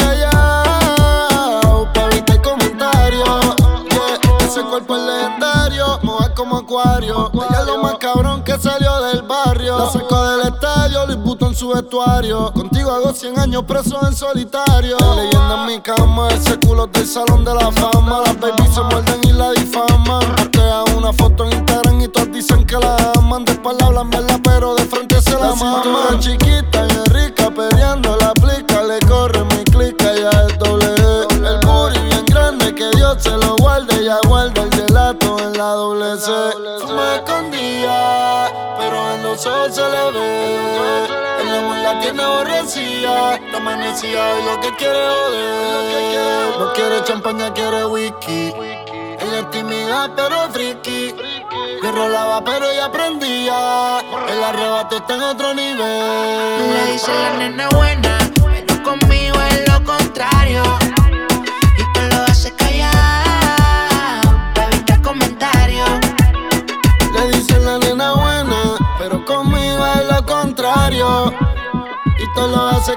Q: callado, para evitar comentarios. Yeah. Ese cuerpo es legendario, moja como acuario. Ella es lo más cabrón que salió del barrio. La sacó del estadio, Luis Butón en su vestuario. Contigo hago cien años preso en solitario. Leyenda en mi cama, ese culo del salón de la fama. Las babies se muerden y la difaman. Postea una foto en Instagram y todos dicen que la aman. De espalda hablan mierda, pero de frente se la maman. La cintura chiquita y es rica, peleando la aplica. Le corre mi clica, ya es doble E. El booty bien grande, que Dios se lo guarde. Ya guarda el gelato en la doble C. Me escondía, pero en los ojos se le ve. El amor la tiene aborrecida, te amanecía y lo que quiere joder. No quiere champaña, quiere whisky. Ella es tímida pero friki. Yo rolaba pero ella aprendía. El arrebato está en otro nivel.
R: Le dice la nena buena, pero conmigo es lo contrario. Y tú lo haces callado, para evitar comentarios.
Q: Le dicen la nena buena, pero conmigo es lo contrario. Y tú lo haces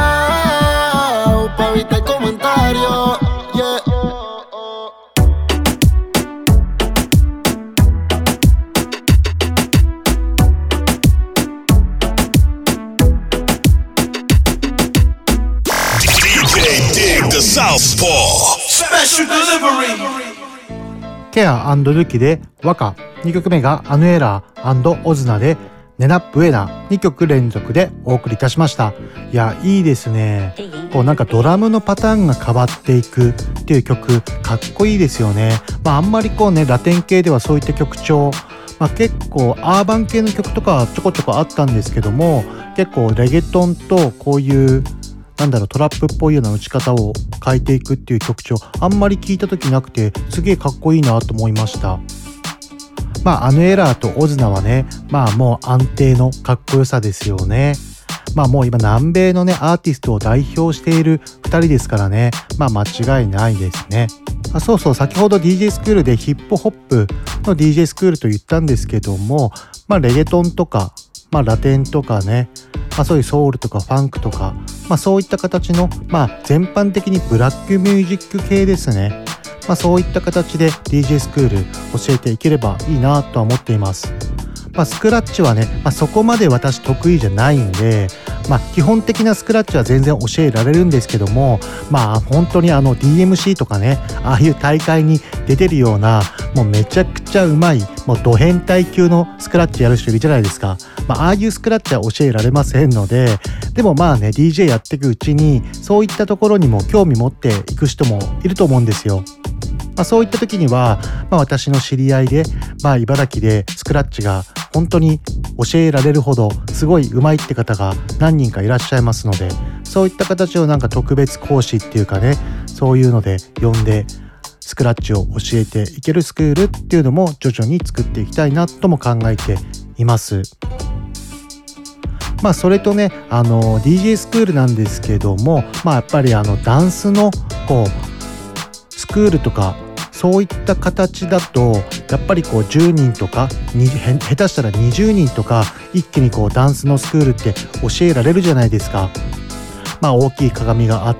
Q: callado, para evitar comentarios. Yeah.
B: D J Dig the Southpaw
C: Special delivery.
E: ケア&ルキで和歌、にきょくめがアヌエラー&オズナでネナブエナ、にきょく連続でお送りいたしました。いや、いいですね。こうなんかドラムのパターンが変わっていくっていう曲、かっこいいですよね。まああんまりこうね、ラテン系ではそういった曲調、まあ結構アーバン系の曲とかはちょこちょこあったんですけども、結構レゲトンとこういうなんだろうトラップっぽいような打ち方を変えていくっていう曲調あんまり聞いた時なくてすげえかっこいいなと思いました。まあアヌエラーとオズナはねまあもう安定のかっこよさですよね。まあもう今南米のねアーティストを代表しているふたりですからねまあ間違いないですね。あそうそう先ほど ディージェー スクールでヒップホップの ディージェー スクールと言ったんですけどもまあレゲトンとかまあラテンとかねまあ、そういうソウルとかファンクとか、まあ、そういった形の、まあ、全般的にブラックミュージック系ですね、まあ、そういった形で ディージェー スクール教えていければいいなとは思っています。まあ、スクラッチはね、まあ、そこまで私得意じゃないんで、 まあ基本的なスクラッチは全然教えられるんですけども、まあ本当にあの ディーエムシー とかね、ああいう大会に出てるようなもうめちゃくちゃうまいもうド変態級のスクラッチやる人いるじゃないですか。まあああいうスクラッチは教えられませんので、でもまあね ディージェー やっていくうちにそういったところにも興味持っていく人もいると思うんですよ。まあ、そういった時には、まあ、私の知り合いで、まあ、茨城でスクラッチが本当に教えられるほどすごい上手いって方が何人かいらっしゃいますので、そういった形をなんか特別講師っていうかね、そういうので呼んでスクラッチを教えていけるスクールっていうのも徐々に作っていきたいなとも考えています。まあそれとね、あの ディージェー スクールなんですけども、まあやっぱりあのダンスのこうスクールとかそういった形だとやっぱりこうじゅうにんとか下手したらにじゅうにんとか一気にこうダンスのスクールって教えられるじゃないですか。まあ大きい鏡があって、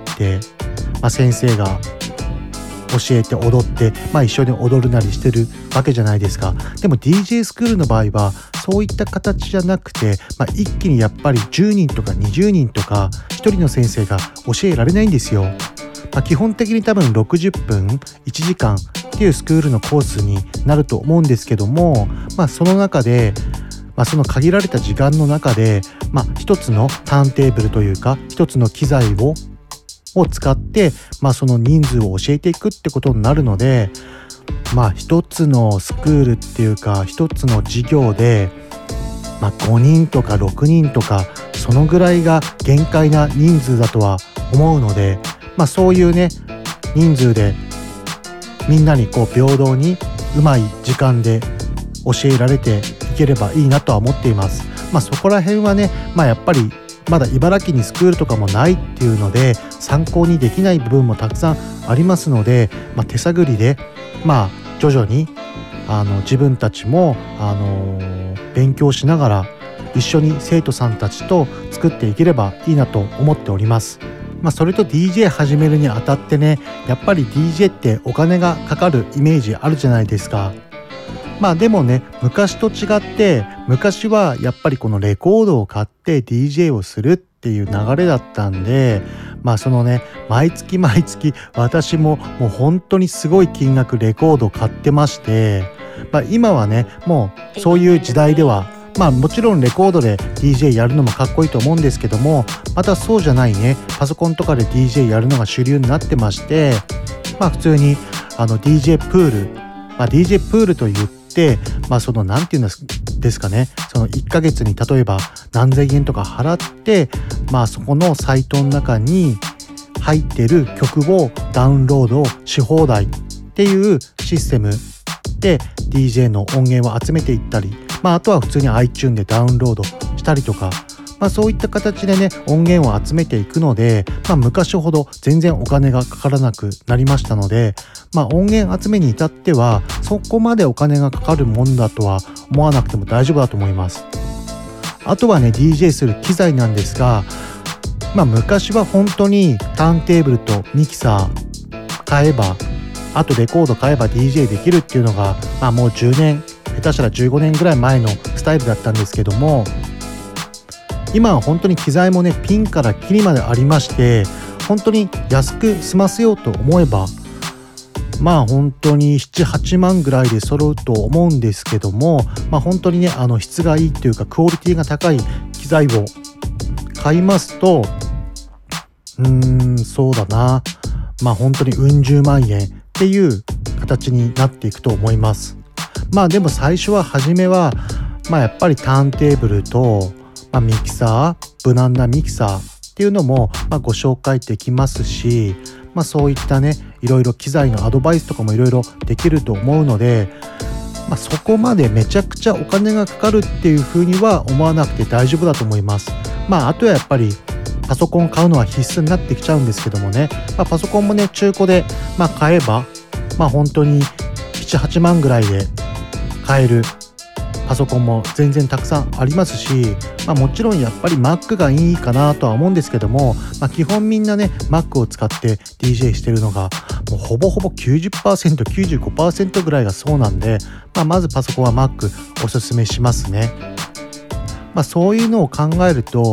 E: まあ、先生が教えて踊って、まあ、一緒に踊るなりしてるわけじゃないですか。でも ディージェー スクールの場合はそういった形じゃなくて、まあ、一気にやっぱりじゅうにんとかにじゅうにんとかひとりの先生が教えられないんですよ。まあ、基本的に多分ろくじゅっぷんいちじかんっていうスクールのコースになると思うんですけども、まあ、その中で、まあ、その限られた時間の中で、まあ、一つのターンテーブルというか一つの機材をを使って、まあ、その人数を教えていくってことになるので、まあ一つのスクールっていうか一つの授業で、まあ、ごにんとかろくにんとかそのぐらいが限界な人数だとは思うので、まあ、そういうね人数でみんなにこう平等にうまい時間で教えられていければいいなとは思っています。まあそこら辺はね、まあやっぱりまだ茨城にスクールとかもないっていうので参考にできない部分もたくさんありますので、まあ、手探りでまあ徐々にあの自分たちもあのー、勉強しながら一緒に生徒さんたちと作っていければいいなと思っております。まあ、それと ディージェー 始めるにあたってね、やっぱり ディージェー ってお金がかかるイメージあるじゃないですか。まあでもね、昔と違って昔はやっぱりこのレコードを買って ディージェー をするっていう流れだったんで、まあそのね毎月毎月私ももう本当にすごい金額レコードを買ってまして、まあ、今はねもうそういう時代ではまあもちろんレコードで ディージェー やるのもかっこいいと思うんですけども、またそうじゃないねパソコンとかで ディージェー やるのが主流になってまして、まあ普通にあの ディージェー プール、まあ、ディージェー プールと言ってでまあそのなんていうんですかね、そのいっかげつに例えば何千円とか払ってまあそこのサイトの中に入ってる曲をダウンロードし放題っていうシステムで ディージェー の音源を集めていったり、まああとは普通に iTunes でダウンロードしたりとか、まあそういった形でね音源を集めていくので、まあ昔ほど全然お金がかからなくなりましたので、まあ音源集めに至ってはそこまでお金がかかるもんだとは思わなくても大丈夫だと思います。あとはね ディージェー する機材なんですが、まあ昔は本当にターンテーブルとミキサー買えば、あとレコード買えば ディージェー できるっていうのがまあもうじゅうねん下手したらじゅうごねんぐらい前のスタイルだったんですけども、今は本当に機材もねピンからキリまでありまして、本当に安く済ませようと思えばまあ本当にななはちまんぐらいで揃うと思うんですけども、まあ本当にねあの質がいいというかクオリティが高い機材を買いますとうーんそうだなまあ本当にうん十万円っていう形になっていくと思います。まあでも最初は初めはまあやっぱりターンテーブルとまあ、ミキサー無難なミキサーっていうのもまあご紹介できますし、まあ、そういったねいろいろ機材のアドバイスとかもいろいろできると思うので、まあ、そこまでめちゃくちゃお金がかかるっていうふうには思わなくて大丈夫だと思います。まああとはやっぱりパソコン買うのは必須になってきちゃうんですけどもね、まあ、パソコンもね中古でまあ買えばまあ本当にななはちまんぐらいで買えるパソコンも全然たくさんありますし、まあ、もちろんやっぱり Mac がいいかなとは思うんですけども、まあ、基本みんなね Mac を使って ディージェー してるのがもうほぼほぼ きゅうじゅっパーセント、きゅうじゅうごパーセント ぐらいがそうなんで、まあ、まずパソコンは Mac おすすめしますね。まあ、そういうのを考えると、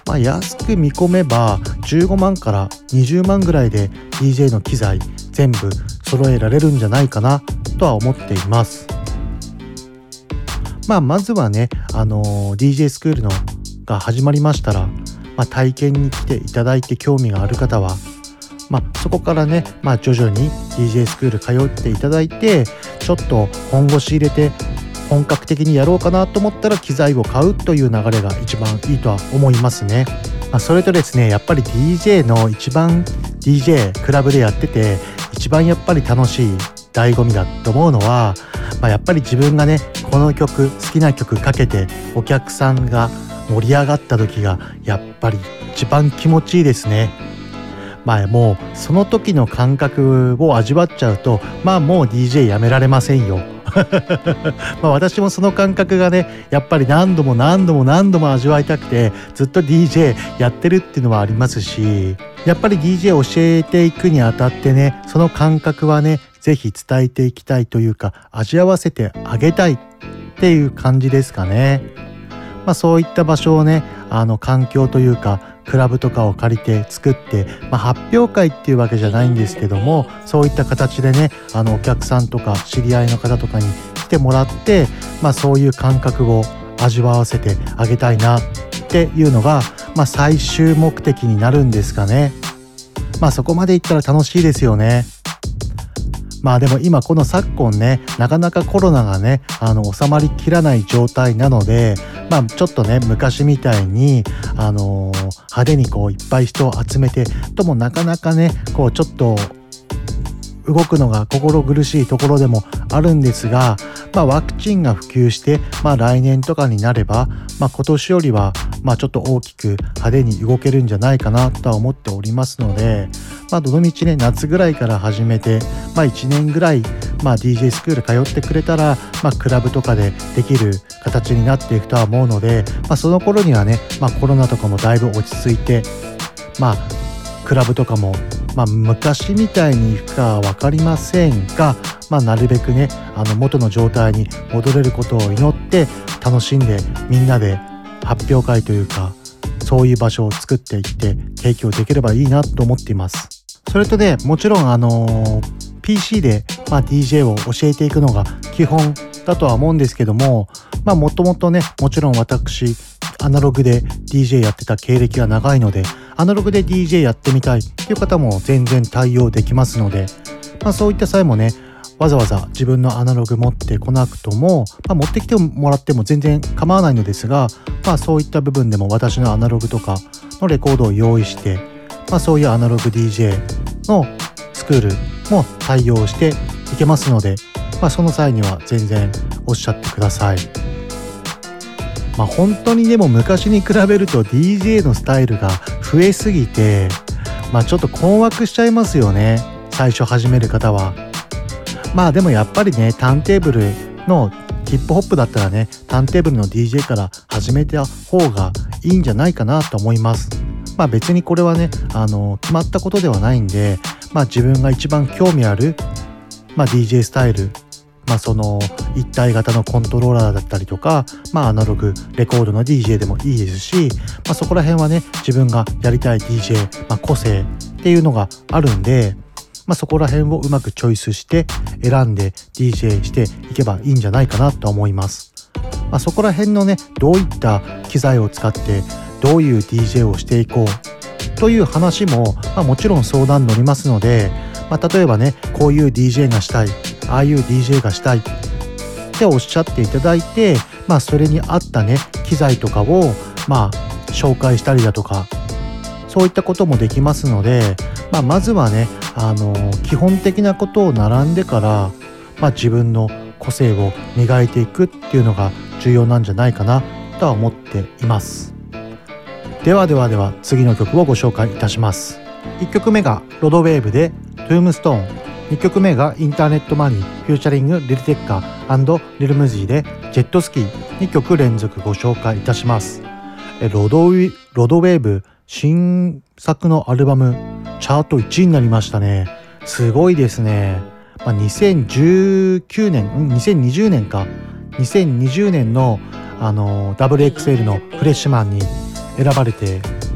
E: まあ、安く見込めばじゅうごまんからにじゅうまんぐらいで ディージェー の機材全部揃えられるんじゃないかなとは思っています。まあ、まずはね、あのー、ディージェー スクールのが始まりましたら、まあ、体験に来ていただいて興味がある方は、まあ、そこからね、まあ、徐々に ディージェー スクール通っていただいて、ちょっと本腰入れて本格的にやろうかなと思ったら機材を買うという流れが一番いいとは思いますね。まあ、それとですね、やっぱり ディージェー の一番 ディージェー クラブでやってて一番やっぱり楽しい醍醐味だと思うのは、まあ、やっぱり自分がねこの曲好きな曲かけてお客さんが盛り上がった時がやっぱり一番気持ちいいですね。まあもうその時の感覚を味わっちゃうと、まあもう ディージェー やめられませんよまあ私もその感覚がねやっぱり何度も何度も何度も味わいたくてずっと ディージェー やってるっていうのはありますし、やっぱり ディージェー 教えていくにあたってね、その感覚はねぜひ伝えていきたいというか味わわせてあげたいっていう感じですかね。まあそういった場所をね、あの環境というかクラブとかを借りて作って、まあ、発表会っていうわけじゃないんですけども、そういった形でね、あのお客さんとか知り合いの方とかに来てもらって、まあ、そういう感覚を味わわせてあげたいなっていうのが、まあ、最終目的になるんですかね。まあそこまでいったら楽しいですよね。まあでも今この昨今ね、なかなかコロナがねあの収まりきらない状態なので、まあちょっとね昔みたいにあのー、派手にこういっぱい人を集めてともなかなかねこうちょっと動くのが心苦しいところでもあるんですが、まあ、ワクチンが普及して、まあ、来年とかになれば、まあ、今年よりは、まあ、ちょっと大きく派手に動けるんじゃないかなとは思っておりますので、まあ、どのみちね夏ぐらいから始めて、まあ、いちねんぐらい、まあ、ディージェー スクール通ってくれたら、まあ、クラブとかでできる形になっていくとは思うので、まあ、その頃にはね、まあ、コロナとかもだいぶ落ち着いて、まあクラブとかも、まあ、昔みたいにいくかは分かりませんが、まあ、なるべくねあの元の状態に戻れることを祈って楽しんでみんなで発表会というかそういう場所を作っていって提供できればいいなと思っています。それとねもちろんあの ピーシー で、まあ、ディージェー を教えていくのが基本だとは思うんですけども、まあもともとねもちろん私アナログで ディージェー やってた経歴が長いのでアナログで ディージェー やってみたいという方も全然対応できますので、まあ、そういった際もねわざわざ自分のアナログ持ってこなくとも、まあ、持ってきてもらっても全然構わないのですが、まあ、そういった部分でも私のアナログとかのレコードを用意して、まあ、そういうアナログ ディージェー のスクールも対応していけますので、まあ、その際には全然おっしゃってください。まあ、本当にでも昔に比べると ディージェー のスタイルが増えすぎて、まあ、ちょっと困惑しちゃいますよね最初始める方は。まあでもやっぱりねターンテーブルのヒップホップだったらねターンテーブルの ディージェー から始めた方がいいんじゃないかなと思います。まあ別にこれはねあの決まったことではないんで、まあ自分が一番興味ある、まあ、ディージェー スタイル、まあその一体型のコントローラーだったりとか、まあアナログレコードの ディージェー でもいいですし、まあそこら辺はね自分がやりたい ディージェー、まあ個性っていうのがあるんで、まあそこら辺をうまくチョイスして選んで ディージェー していけばいいんじゃないかなと思います。まあそこら辺のねどういった機材を使ってどういう ディージェー をしていこうという話も、まあ、もちろん相談乗りますので、まあ例えばねこういう ディージェー がしたい、ああいう ディージェー がしたいっておっしゃっていただいて、まあそれに合ったね機材とかをまあ紹介したりだとかそういったこともできますので、まあまずはねあの基本的なことを並んでから、まあ自分の個性を磨いていくっていうのが重要なんじゃないかなとは思っています。ではではでは次の曲をご紹介いたします。いっきょくめがロドウェーブでトゥームストーン、にきょくめがインターネットマニーフューチャリングリルテッカー&リルムジーでジェットスキー、にきょく連続ご紹介いたします。ロドウィ、ロドウェーブ新作のアルバムチャートいちいになりましたね。すごいですね。まあ、にせんじゅうきゅうねん、にせんにじゅうねんかにせんにじゅうねんのあの ダブルエックスエル のフレッシュマンに選ばれて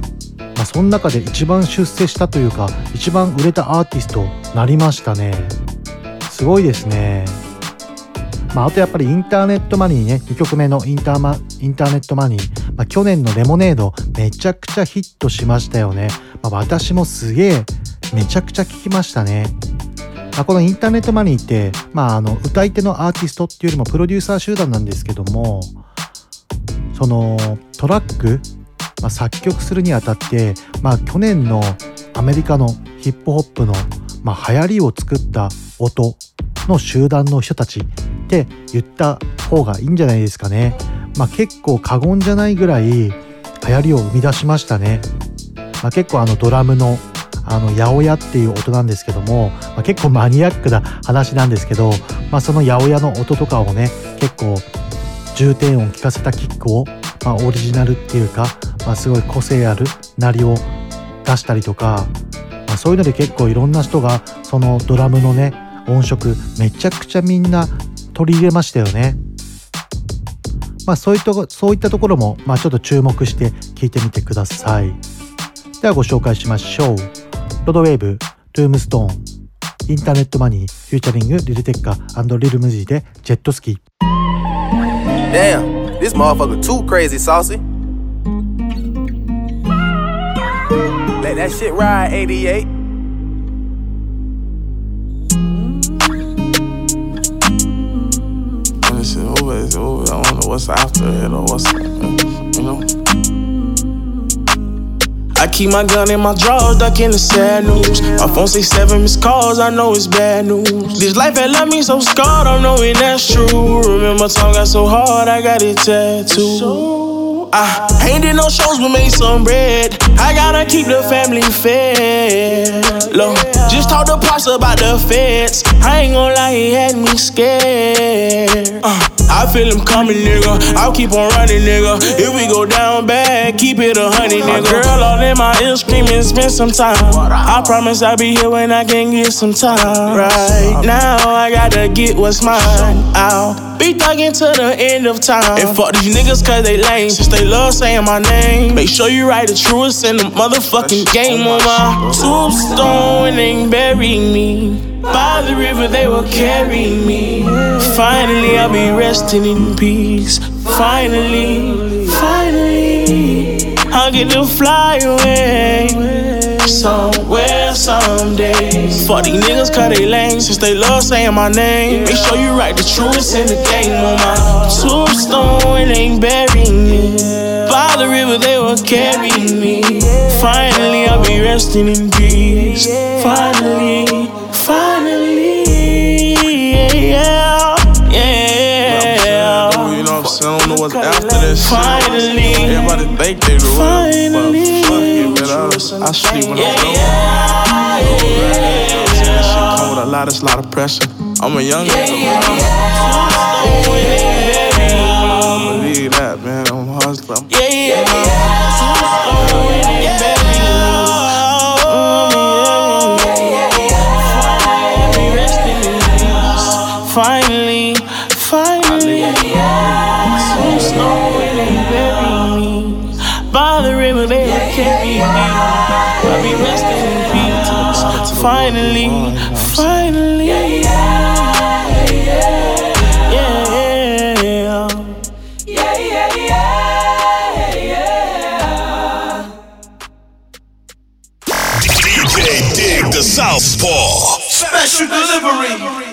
E: まあ、その中で一番出世したというか一番売れたアーティストになりましたね。すごいですね。まあ、あとやっぱりインターネットマニーね、にきょくめのインターマインターネットマニー、まあ、去年のレモネードめちゃくちゃヒットしましたよね。まあ、私もすげえめちゃくちゃ聞きましたね。まあ、このインターネットマニーって、まあ、あの歌い手のアーティストっていうよりもプロデューサー集団なんですけども、そのトラック、まあ、作曲するにあたって、まあ、去年のアメリカのヒップホップの、まあ、流行りを作った音の集団の人たちって言った方がいいんじゃないですかね。まあ、結構過言じゃないぐらい流行りを生み出しましたね。まあ、結構あのドラムのあの八百屋っていう音なんですけども、まあ、結構マニアックな話なんですけど、まあ、その八百屋の音とかをね結構重低音聞かせたキックを、まあ、オリジナルっていうか、まあ、すごい個性ある鳴りを出したりとか、まあ、そういうので結構いろんな人がそのドラムのね音色めちゃくちゃみんな取り入れましたよね。まあそういったそういったところもまあちょっと注目して聞いてみてください。ではご紹介しましょう。ロドウェーブ、トゥームストーン、インターネットマニー、フューチャリングリルテッカ&リルムジーでジェットスキー。
S: Damn, this motherfucker too crazy saucy. Let that shit ride, eighty-eight.
T: This shit over, it's over. I don't know what's after it or what's, you know. I keep my gun in my drawers, ducking the sad news. My phone say seven missed calls, I know it's bad news. This life had left me so scarred, I'm knowing that's true. Remember time got so hard, I got it tattooed. I ain't did no shows, but made some bread. I gotta keep the family fed. Look, just talk to Pops about the feds. I ain't gon' lie, he had me scared. uh, I feel him coming, nigga. I'll keep on running, nigga. If we go down bad, keep it a hundred, nigga. Girl all in my ear screaming, spend some time. I promise I'll be here when I can get some time. Right now, I gotta get what's mine. I'll be thugging to the end of time. And fuck these niggas cause they lame, since they love saying my name. Make sure you write the truest in the motherfucking game. On my tombstone and bury me by the river, they will carry me. Finally, I'll be resting in peace. Finally, finally, I'll get to fly away somewhere someday. Fuck these niggas cause they lame, since they love saying my name. Make sure you write the truest in the game. On my tombstone and bury me by the river, they will carry me. Finally, I'll be resting in peace. Finally, finally, yeah, yeah. You know what I'm saying? I don't know what's after this shit. Finally, everybody think they know. Finally, but fuck it, I sleep when I'm dope. This shit come with a lot, it's a lot of pressure. I'm a young nigga, I believe that, man. I'm a hustler. Yeah, yeah, finally, finally, some snow and bury me by the river, they will carry me. I'll be resting in peace. Finally, finally, yeah, yeah, yeah, yeah.
B: D J Dig the Southpaw.
C: Special delivery.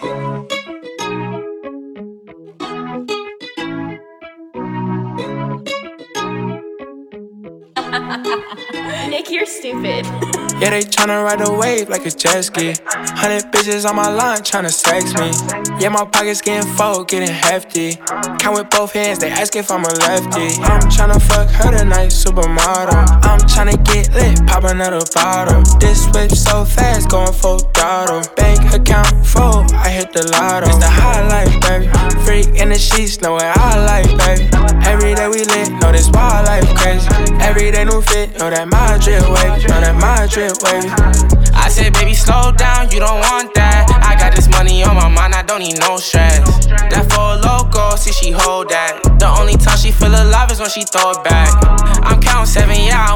U: Nick, you're stupid.
O: Yeah, they tryna ride the wave like a jet ski. Hundred bitches on my line tryna sex me. Yeah, my pockets getting full, getting hefty. Count with both hands, they ask if I'm a lefty. I'm tryna fuck her tonight, supermodel. I'm tryna get lit, pop another bottle. This whip so fast, going full throttle. Bank account full, I hit the lotto. It's the highlight, baby. Freak in the sheets, know what I like, baby. Every day we lit, know this wild life crazy. Every day new fit, know that my drip wavy, know that my drip wavy.
V: I said, baby, slow down, you don't want that. I got this money on my mind, I don't need no stress. That for a loco, see she hold that. The only time she feel alive is when she throw it back. I'm counting seven, yeah, I want like three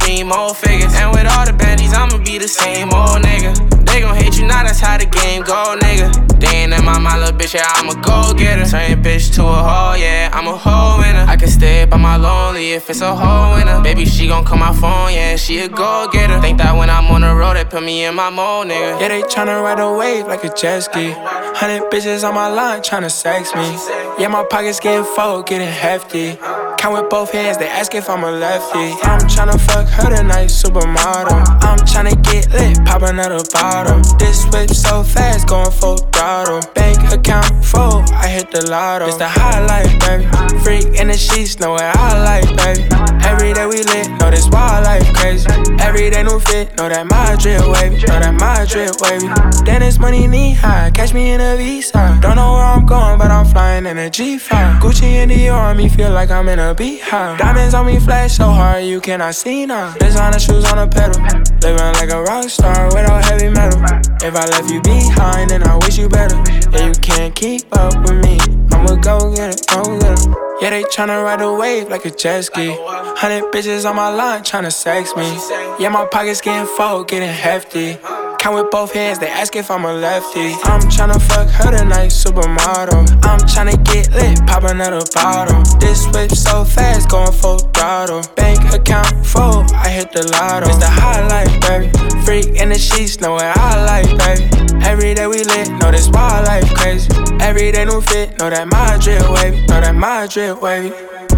V: need more figures. And with all the baddies, I'ma be the same old nigga. They gon' hate you now, that's how the game go, nigga. They ain't in my mind, little bitch, yeah, I'm a go-getter. Turn bitch to a hoe, yeah, I'm a hoe winner. I can stay by my lonely if it's a hoe winner. Baby, she gon' call my phone, yeah, she a go-getter. Think that when I'm on the road, they put me in my mode, nigga.
T: Yeah, they tryna ride a wave like a jet ski. Hundred bitches on my line tryna sex me. Yeah, my pockets getting full, getting hefty. Count with both hands, they ask if I'm a lefty. I'm tryna fuck her tonight, supermodel. I'm tryna get lit, pop another bottle. This whip so fast, going full throttle. Bank account full, I hit the lotto. It's the high life, baby. Freak in the sheets, know what I like, baby. Every day we lit, know this wild life crazy. Every day new fit, know that my drip wavy. Know that my drip wavy. Then it's money knee high, catch me in a Visa. Don't know where I'm going, but I'm flying in a G five. Gucci and Dior on me, feel like I'm in a beehive. Diamonds on me flash so hard, you cannot see now. Designer shoes on a pedal, living like a rock star without heavy metal. If I left you behind, then I wish you better. Yeah, you can't keep up with me, I'ma go get it, go get it. Yeah, they tryna ride a wave like a jet ski. Hundred bitches on my line tryna sex me. Yeah, my pockets getting full, getting hefty. Count with both hands, they ask if I'm a lefty. I'm tryna fuck her tonight, supermodel. I'm tryna get lit, pop another bottle. This whip so fast, going full throttle. Bank account full, I hit the lotto. It's the high life, baby. Freak in the sheets, know what I like, baby. Every day we lit, know this wild life crazy. Every day new fit, know that my drip wavy. Know that my drip wavy.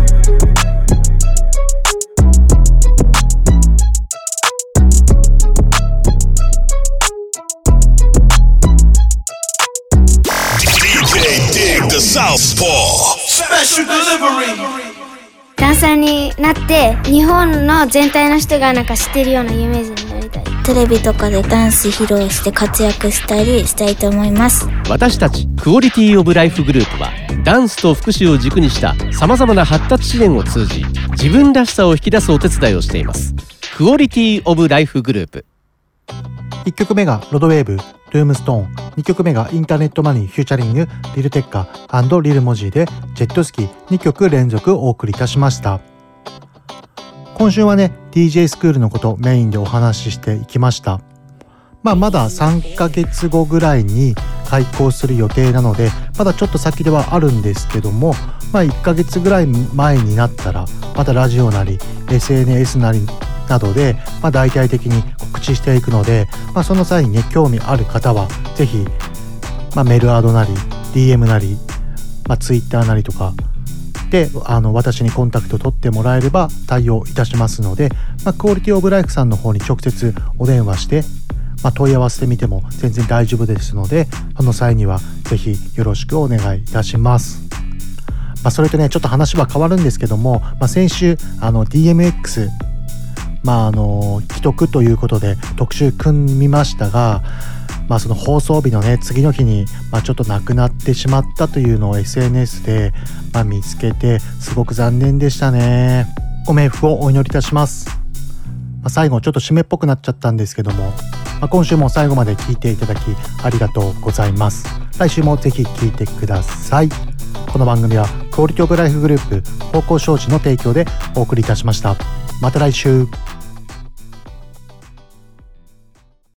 B: Dig the Southpaw Special Delivery。
H: ダンサーになって日本の全体の人がなんか知ってるような有名人になりたい。
I: テレビとかでダンス披露して活躍したりしたいと思います。
J: 私たちクオリティオブライフグループはダンスと福祉を軸にしたさまざまな発達支援を通じ自分らしさを引き出すお手伝いをしています。クオリティオブライフグループ。
E: いっきょくめがロドウェーブ、ルームストーン。にきょくめがインターネットマニーフューチャリングリルテッカー&リルモジーでジェットスキーにきょく連続お送りいたしました。今週はね ディージェー スクールのことメインでお話ししていきました。まあまださんかげつごぐらいに開校する予定なのでまだちょっと先ではあるんですけども、まあいっかげつぐらい前になったらまたラジオなり エスエヌエス なりなどで、まあ、大々的に告知していくので、まあ、その際にね興味ある方はぜひ、まあ、メールアドなり ディーエム なり、まあ、ツイッターなりとかであの私にコンタクト取ってもらえれば対応いたしますので、まあ、クオリティオブライフさんの方に直接お電話して、まあ、問い合わせてみても全然大丈夫ですのでその際にはぜひよろしくお願いいたします。まあ、それとねちょっと話は変わるんですけども、まあ、先週あの ディーエムエックスまああの既得ということで特集組みましたが、まあその放送日のね次の日にまあちょっとなくなってしまったというのを エスエヌエス でまあ見つけてすごく残念でしたね。ご冥福をお祈りいたします。まあ、最後ちょっと締めっぽくなっちゃったんですけども、まあ、今週も最後まで聞いていただきありがとうございます。来週もぜひ聞いてください。この番組はクオリティオブライフグループ方向障子の提供でお送りいたしました。また来週。